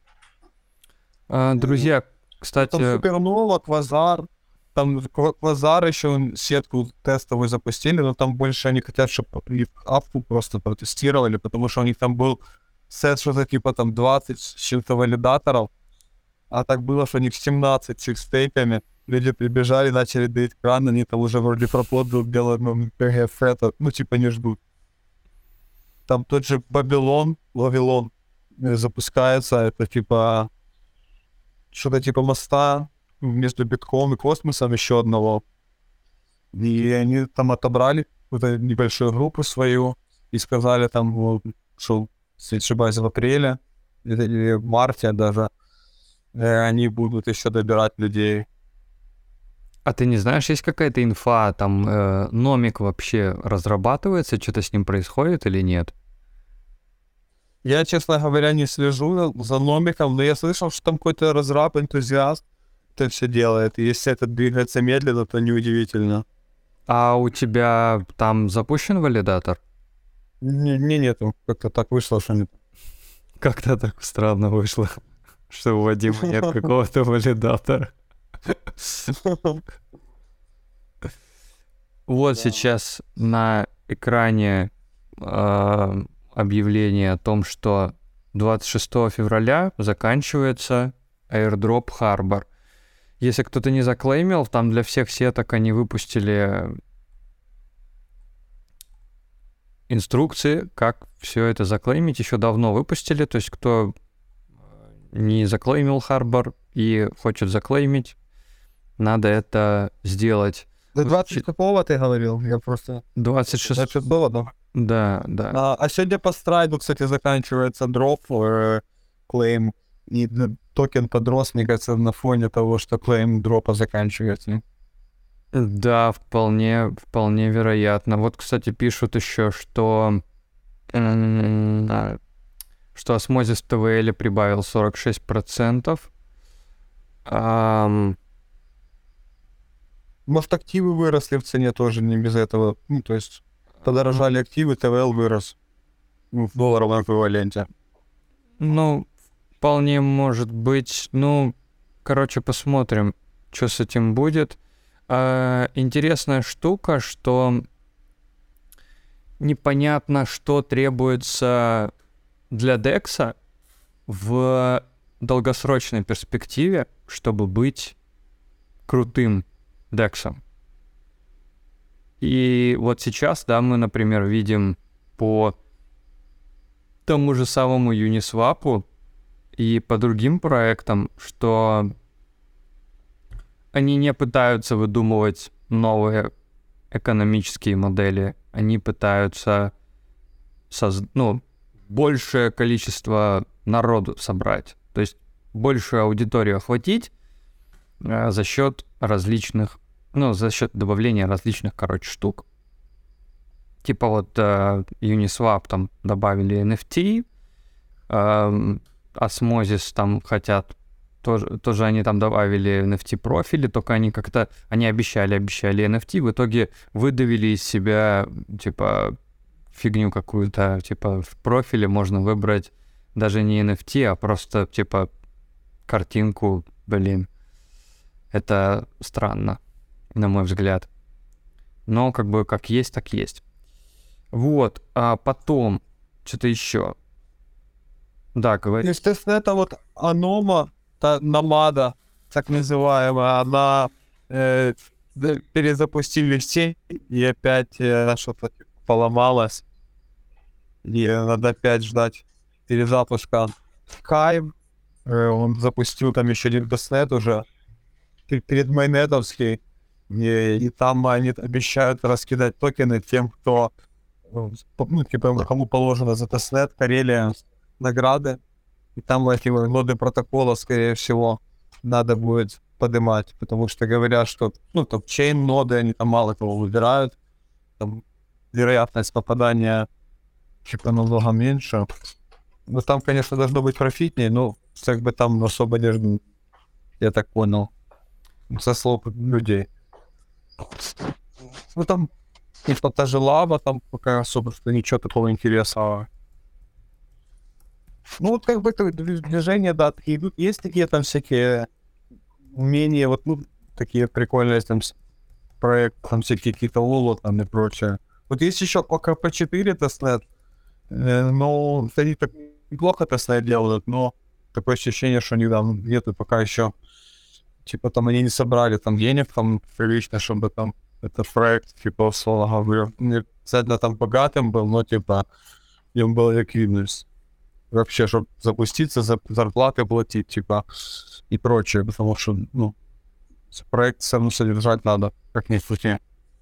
А, друзья, кстати... Там Супернова, Квазар. Там Ква- Квазар еще сетку тестовую запустили, но там больше они хотят, чтобы их апку просто протестировали, потому что у них там был сет что-то типа там двадцать с чем-то валидаторов, а так было, что у них семнадцать с их стейками. Люди прибежали, начали доить кран, они там уже вроде пропот был белым пи эф, это, ну типа не ждут. Там тот же Babylon, Вавилон э, запускается, это типа что-то типа моста между битком и космосом еще одного. И они там отобрали какую-то небольшую группу свою и сказали там, вот, что, если не ошибаюсь, в апреле или или в марте даже э, они будут еще добирать людей. А ты не знаешь, есть какая-то инфа, там э, Номик вообще разрабатывается, что-то с ним происходит или нет? Я, честно говоря, не слежу за Номиком, но я слышал, что там какой-то разраб, энтузиаст это все делает. И если это двигается медленно, то неудивительно. А у тебя там запущен валидатор? Не, не нету. Как-то так вышло, что нет. Как-то так странно вышло, что у Вадима нет какого-то валидатора. Вот сейчас на экране э, объявление о том, что двадцать шестого февраля заканчивается airdrop Harbor. Если кто-то не заклеймил, там для всех сеток они выпустили инструкции, как все это заклеймить. Еще давно выпустили. То есть кто не заклеймил Harbor и хочет заклеймить, надо это сделать. До двадцать какого ты говорил? Я просто... двадцать шестого. двадцать шестого, да? Да, да. А, а сегодня по страйду, кстати, заканчивается дроп, э, клейм, и д- токен подрос, мне кажется, на фоне того, что клейм дропа заканчивается. Да, вполне, вполне вероятно. Вот, кстати, пишут еще, что м, что осмозис в тэ вэ эле прибавил сорок шесть процентов. Ам, Может, активы выросли в цене тоже не без этого. Ну, то есть подорожали активы, ТВЛ вырос ну, в долларовом эквиваленте. Ну, вполне может быть. Ну, короче, посмотрим, что с этим будет. А, интересная штука, что непонятно, что требуется для декса в долгосрочной перспективе, чтобы быть крутым дексом. И вот сейчас, да, мы, например, видим по тому же самому Uniswap и по другим проектам, что они не пытаются выдумывать новые экономические модели, они пытаются соз... ну, большее количество народу собрать, то есть большую аудиторию охватить э, за счет различных, ну, за счет добавления различных, короче, штук. Типа вот э, Uniswap там добавили эн эф ти, э, Osmosis там хотят, тоже, тоже они там добавили эн эф ти-профили, только они как-то, они обещали, обещали эн эф ти, в итоге выдавили из себя, типа, фигню какую-то, типа, в профиле можно выбрать даже не эн эф ти, а просто, типа, картинку, блин. Это странно, на мой взгляд. Но, как бы, как есть, так есть. Вот, а потом, что-то еще. Да, говори. Естественно, это вот анома, та намада, так называемая, она э, перезапустили сеть, и опять э, что-то поломалось. И надо опять ждать перезапуска. Sky, э, он запустил там еще один тестнет уже, перед майнетовский, и, и там они обещают раскидать токены тем, кто, ну, типа, кому положено за тестнет, Карелия, награды. И там эти ноды протокола, скорее всего, надо будет поднимать, потому что говорят, что, ну, топ-чейн ноды, они там мало кого выбирают, там вероятность попадания типа намного меньше. Но там, конечно, должно быть профитнее, но как бы там особо не ждут, я так понял, со слов людей. Ну, там, типа, та же лава, там пока особо что ничего такого интересного. Ну, вот как бы это движения, да, такие идут. Есть такие там всякие умения, вот, ну, такие прикольные там проекты, там всякие какие-то лоло там и прочее. Вот есть еще пока по четыре тестнет, э, но они так неплохо тестнет делают, но такое ощущение, что они там нету пока еще, типа там они не собрали там денег там прилично, чтобы там этот проект, типа, условно говоря, не обязательно там богатым был, но типа им была ликвидность. Вообще, чтобы запуститься, за зарплаты платить, типа, и прочее, потому что, ну, проект все равно содержать надо, как ни крути.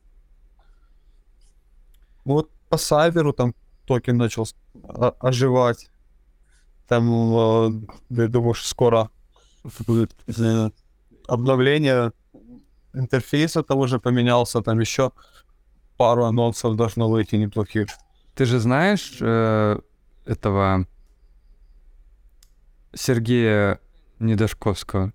Вот по Сайберу там токен начал оживать. Там, э, я думаю, что скоро будет э, обновление интерфейса того же поменялся, там еще пару анонсов должно выйти неплохих. Ты же знаешь э, этого Сергея Недошковского?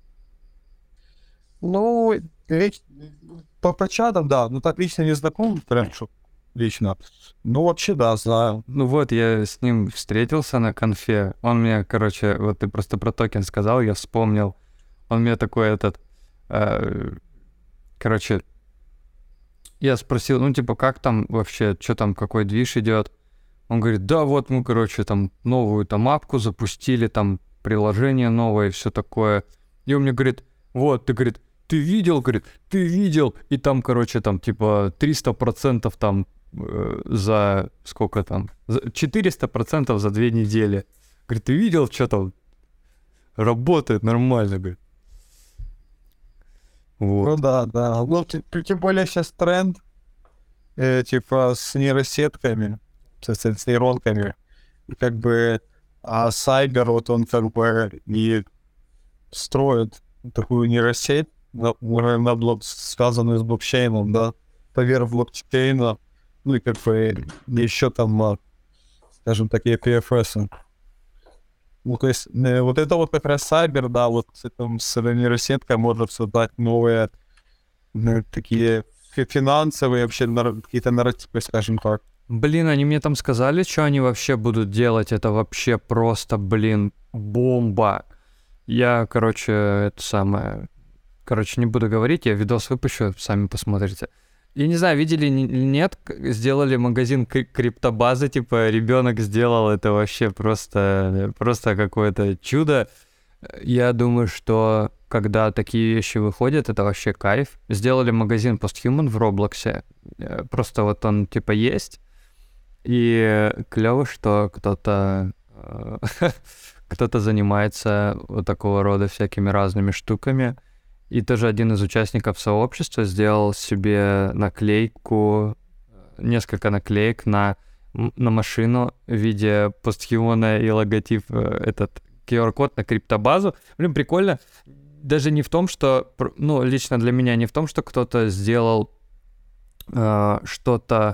Ну, речь по, по чатам, да, ну так лично не знаком, прям что лично. Ну, вообще, да, знаю. Ну вот, я с ним встретился на конфе. Он мне, короче, вот ты просто про токен сказал, я вспомнил. Он мне такой этот... Э, короче, я спросил, ну, типа, как там вообще, что там, какой движ идет? Он говорит, да, вот мы, короче, там новую там апку запустили, там приложение новое и все такое. И он мне говорит, вот, ты, говорит, ты видел, говорит, ты видел, и там, короче, там, типа, триста процентов там э, за сколько там, за четыреста процентов за две недели. Говорит, ты видел, что там работает нормально, говорит. Вот. Ну да, да. Ну, тем, тем более сейчас тренд, э, типа, с нейросетками, с, с нейронками. И как бы, а Сайбер, вот он как бы и строит такую нейросеть, на, на блок, связанную с блокчейном, да, поверх блокчейна, ну и как бы еще там, скажем, такие пи эф эс. Ну, то есть, э, вот это вот как раз Сайбер, да, вот с, этим, с нейросеткой можно создать новые ну, такие фи- финансовые вообще нар- какие-то нарративы, скажем так. Блин, они мне там сказали, что они вообще будут делать. Это вообще просто, блин, бомба. Я, короче, это самое... Короче, не буду говорить, я видос выпущу, сами посмотрите. Я не знаю, видели или нет, к- сделали магазин кри- криптобазы, типа, ребенок сделал, это вообще просто, просто какое-то чудо. Я думаю, что когда такие вещи выходят, это вообще кайф. Сделали магазин Posthuman в Роблоксе, э, просто вот он, типа, есть. И клево, что кто-то э, кто-то занимается вот такого рода всякими разными штуками. И тоже один из участников сообщества сделал себе наклейку, несколько наклеек на, м- на машину в виде постхумана и логотип, э, этот ку ар-код на криптобазу. Блин, прикольно. Даже не в том, что, пр- ну, лично для меня не в том, что кто-то сделал э, что-то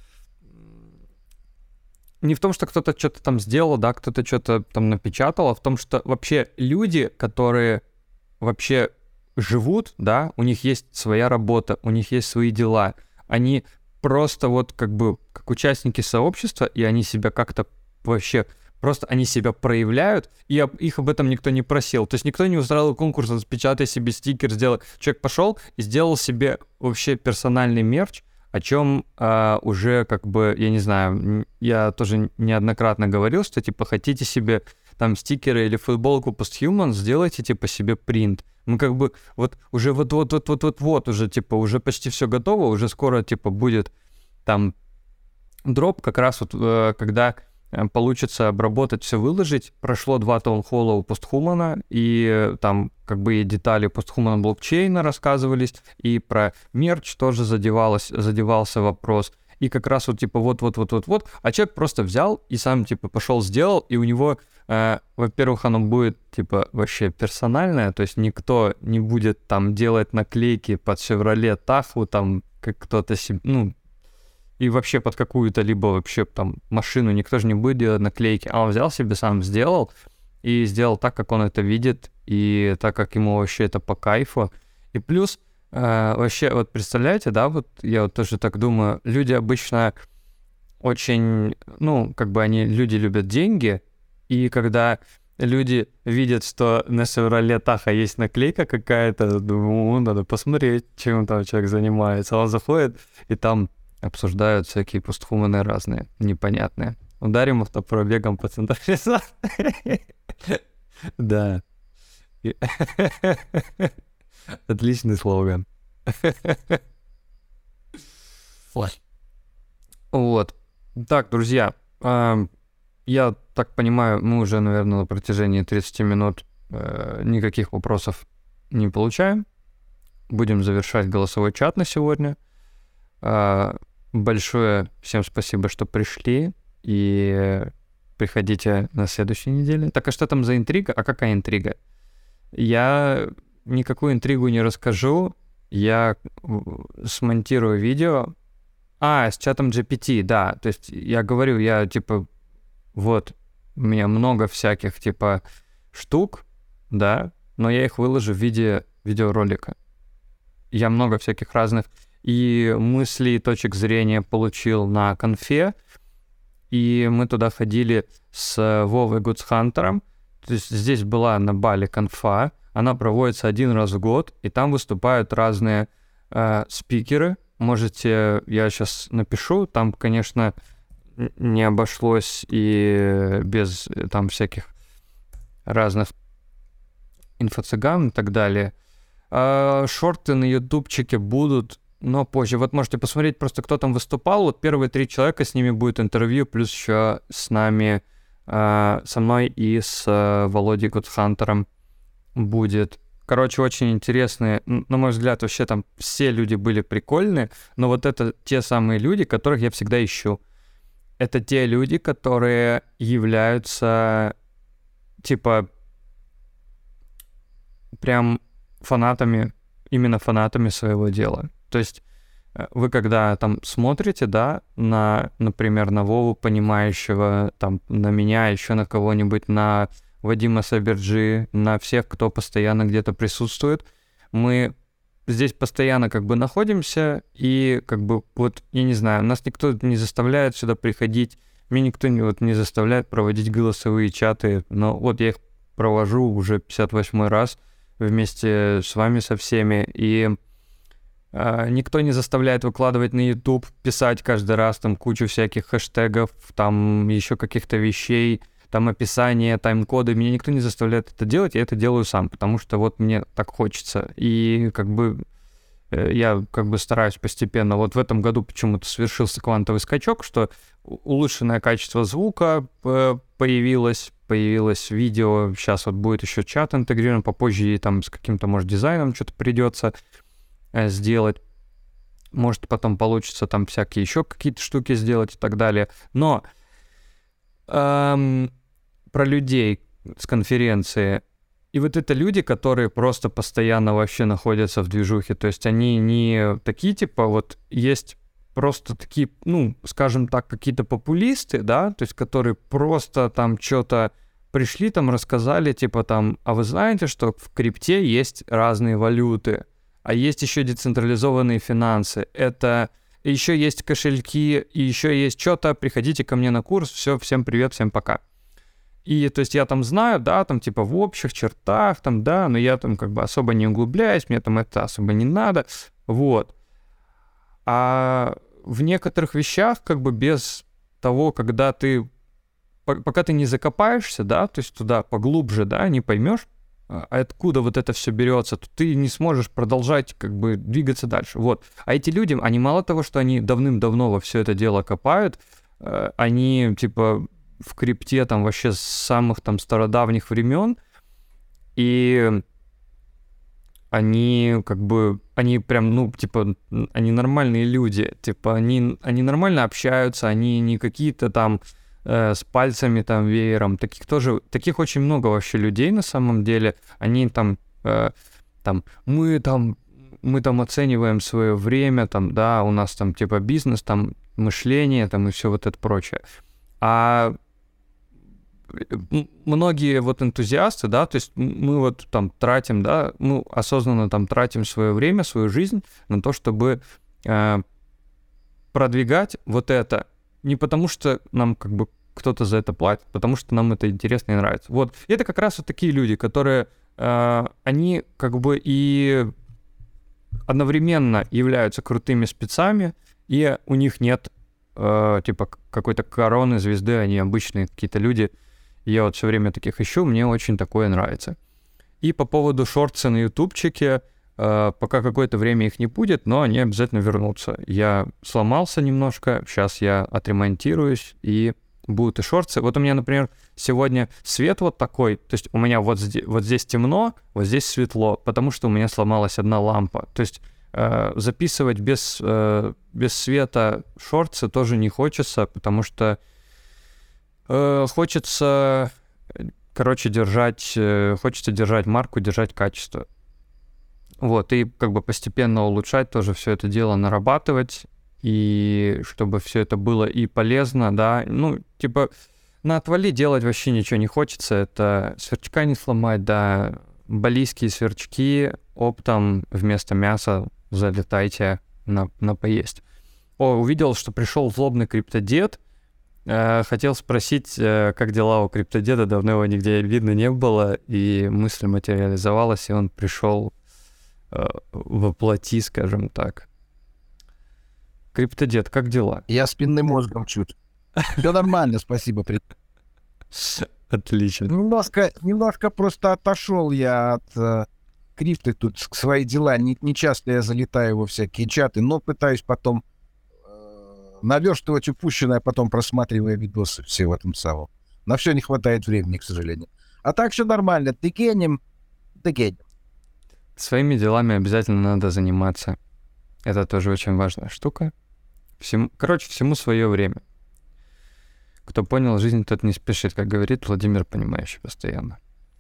не в том, что кто-то что-то там сделал, да, кто-то что-то там напечатал, а в том, что вообще люди, которые вообще живут, да, у них есть своя работа, у них есть свои дела, они просто вот как бы как участники сообщества, и они себя как-то вообще, просто они себя проявляют, и об- их об этом никто не просил. То есть никто не устраивал конкурс, распечатай себе стикер, сделай. Человек пошел и сделал себе вообще персональный мерч, о чем а, уже как бы, я не знаю, м, я тоже неоднократно говорил, что типа хотите себе там стикеры или футболку Posthuman, сделайте типа себе принт. Мы как бы вот уже вот-вот-вот-вот-вот уже типа уже почти все готово, уже скоро типа будет там дроп, как раз вот э, когда э, получится обработать, все выложить. Прошло два таунхолла у Постхумана, и э, там как бы и детали Постхумана блокчейна рассказывались, и про мерч тоже задевалось, задевался вопрос. И как раз вот типа вот-вот-вот-вот-вот, а человек просто взял и сам типа пошел сделал, и у него, э, во-первых, оно будет типа вообще персональное, то есть никто не будет там делать наклейки под Chevrolet Tahoe, там как кто-то себе, ну, и вообще под какую-то либо вообще там машину никто же не будет делать наклейки, а он взял себе, сам сделал, и сделал так, как он это видит, и так, как ему вообще это по кайфу. И плюс, э, вообще, вот представляете, да, вот я вот тоже так думаю, люди обычно очень, ну, как бы они, люди любят деньги, и когда люди видят, что на Chevrolet Tahoe есть наклейка какая-то, думаю, надо посмотреть, чем там человек занимается. Он заходит, и там обсуждают всякие постхуманы разные, непонятные. Ударим автопробегом по централизации. Да. И- Отличный слоган. Вот. Так, друзья, ам, я так понимаю, мы уже, наверное, на протяжении тридцати минут э, никаких вопросов не получаем. Будем завершать голосовой чат на сегодня. А, Большое всем спасибо, что пришли, и приходите на следующей неделе. Так, а что там за интрига? А какая интрига? Я никакую интригу не расскажу. Я в- смонтирую видео. А, с чатом джи пи ти, да. То есть я говорю, я типа, вот, у меня много всяких типа штук, да, но я их выложу в виде видеоролика. Я много всяких разных и мыслей, и точек зрения получил на конфе, и мы туда ходили с Вовой Гудсхантером. То есть здесь была на Бали конфа, она проводится один раз в год, и там выступают разные э, спикеры. Можете, я сейчас напишу, там, конечно, н- не обошлось и без э, там всяких разных инфо-цыган и так далее. А, шорты на ютубчике будут, но позже. Вот можете посмотреть просто, кто там выступал. Вот первые три человека, с ними будет интервью, плюс еще с нами, а, со мной и с а, Володей Гудхантером будет. Короче, очень интересные. Н- На мой взгляд, вообще там все люди были прикольные, но вот это те самые люди, которых я всегда ищу. Это те люди, которые являются, типа, прям фанатами, именно фанатами своего дела. То есть э, вы когда там смотрите, да, на, например, на Вову Понимающего, там, на меня, еще на кого-нибудь, на Вадима Саберджи, на всех, кто постоянно где-то присутствует, мы здесь постоянно как бы находимся, и как бы вот, я не знаю, нас никто не заставляет сюда приходить, меня никто не, вот, не заставляет проводить голосовые чаты, но вот я их провожу уже пятьдесят восьмой раз вместе с вами, со всеми, и э, никто не заставляет выкладывать на YouTube, писать каждый раз там кучу всяких хэштегов, там еще каких-то вещей, там описание, тайм-коды. Меня никто не заставляет это делать, я это делаю сам, потому что вот мне так хочется. И как бы э, я как бы стараюсь постепенно. Вот в этом году почему-то совершился квантовый скачок, что улучшенное качество звука э, появилось, появилось видео, сейчас вот будет еще чат интегрирован, попозже и там с каким-то, может, дизайном что-то придется э, сделать. Может, потом получится там всякие еще какие-то штуки сделать и так далее. Но эм, про людей с конференции. И вот это люди, которые просто постоянно вообще находятся в движухе. То есть они не такие, типа, вот есть просто такие, ну, скажем так, какие-то популисты, да, то есть которые просто там что-то пришли, там рассказали, типа там, а вы знаете, что в крипте есть разные валюты, а есть еще децентрализованные финансы. Это еще есть кошельки, и еще есть что-то, приходите ко мне на курс, все, всем привет, всем пока. И, то есть, я там знаю, да, там, типа, в общих чертах, там, да, но я там, как бы, особо не углубляюсь, мне там это особо не надо, вот. А в некоторых вещах, как бы, без того, когда ты, пока ты не закопаешься, да, то есть, туда поглубже, да, не поймешь, откуда вот это все берется, то ты не сможешь продолжать, как бы, двигаться дальше, вот. А эти люди, они мало того, что они давным-давно во все это дело копают, они, типа, в крипте там вообще с самых там стародавних времен, и они как бы, они прям, ну, типа, они нормальные люди, типа, они, они нормально общаются, они не какие-то там э, с пальцами там веером, таких тоже, таких очень много вообще людей на самом деле, они там, э, там, мы там, мы там оцениваем свое время, там, да, у нас там типа бизнес, там, мышление, там, и все вот это прочее. А многие вот энтузиасты, да, то есть мы вот там тратим, да, мы осознанно там тратим свое время, свою жизнь на то, чтобы э, продвигать вот это, не потому что нам как бы кто-то за это платит, потому что нам это интересно и нравится. Вот, и это как раз вот такие люди, которые, э, они как бы и одновременно являются крутыми спецами, и у них нет э, типа какой-то короны, звезды, они обычные какие-то люди. Я вот все время таких ищу, мне очень такое нравится. И по поводу шортса на ютубчике, э, пока какое-то время их не будет, но они обязательно вернутся. Я сломался немножко, сейчас я отремонтируюсь, и будут и шортсы. Вот у меня, например, сегодня свет вот такой, то есть у меня вот здесь, вот здесь темно, вот здесь светло, потому что у меня сломалась одна лампа. То есть э, записывать без, э, без света шортсы тоже не хочется, потому что э, хочется, короче, держать, э, хочется держать марку, держать качество. Вот, и как бы постепенно улучшать тоже все это дело, нарабатывать, и чтобы все это было и полезно, да, ну, типа, на отвали делать вообще ничего не хочется, это сверчка не сломать, да, балийские сверчки оптом вместо мяса залетайте на, на поесть. О, увидел, что пришел злобный криптодед, э, хотел спросить, э, как дела у криптодеда, давно его нигде видно не было, и мысль материализовалась, и он пришел э, воплоти, скажем так. Криптодед, как дела? Я спинным мозгом чуть. Все нормально, спасибо. Отлично. Немножко, немножко просто отошел я от э, крипты, тут свои дела. Не, не часто я залетаю во всякие чаты, но пытаюсь потом э, наверстывать упущенное, потом просматривая видосы все в этом самом. На все не хватает времени, к сожалению. А так все нормально. Ты генем, ты генем. Своими делами обязательно надо заниматься. Это тоже очень важная штука. Всему, короче, всему свое время. Кто понял, жизнь тот не спешит, как говорит Владимир, понимающий постоянно.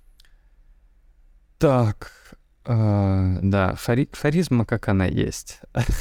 Так, э, да, хари, харизма, как она есть.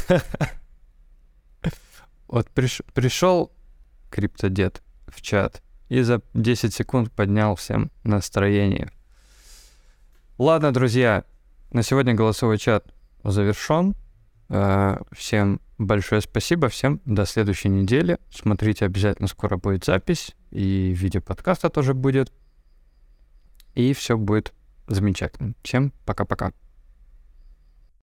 Вот приш, пришел криптодед в чат и за десять секунд поднял всем настроение. Ладно, друзья, на сегодня голосовой чат завершен. Всем большое спасибо, всем до следующей недели. Смотрите, обязательно скоро будет запись, и видео подкаста тоже будет. И все будет замечательно. Всем пока-пока.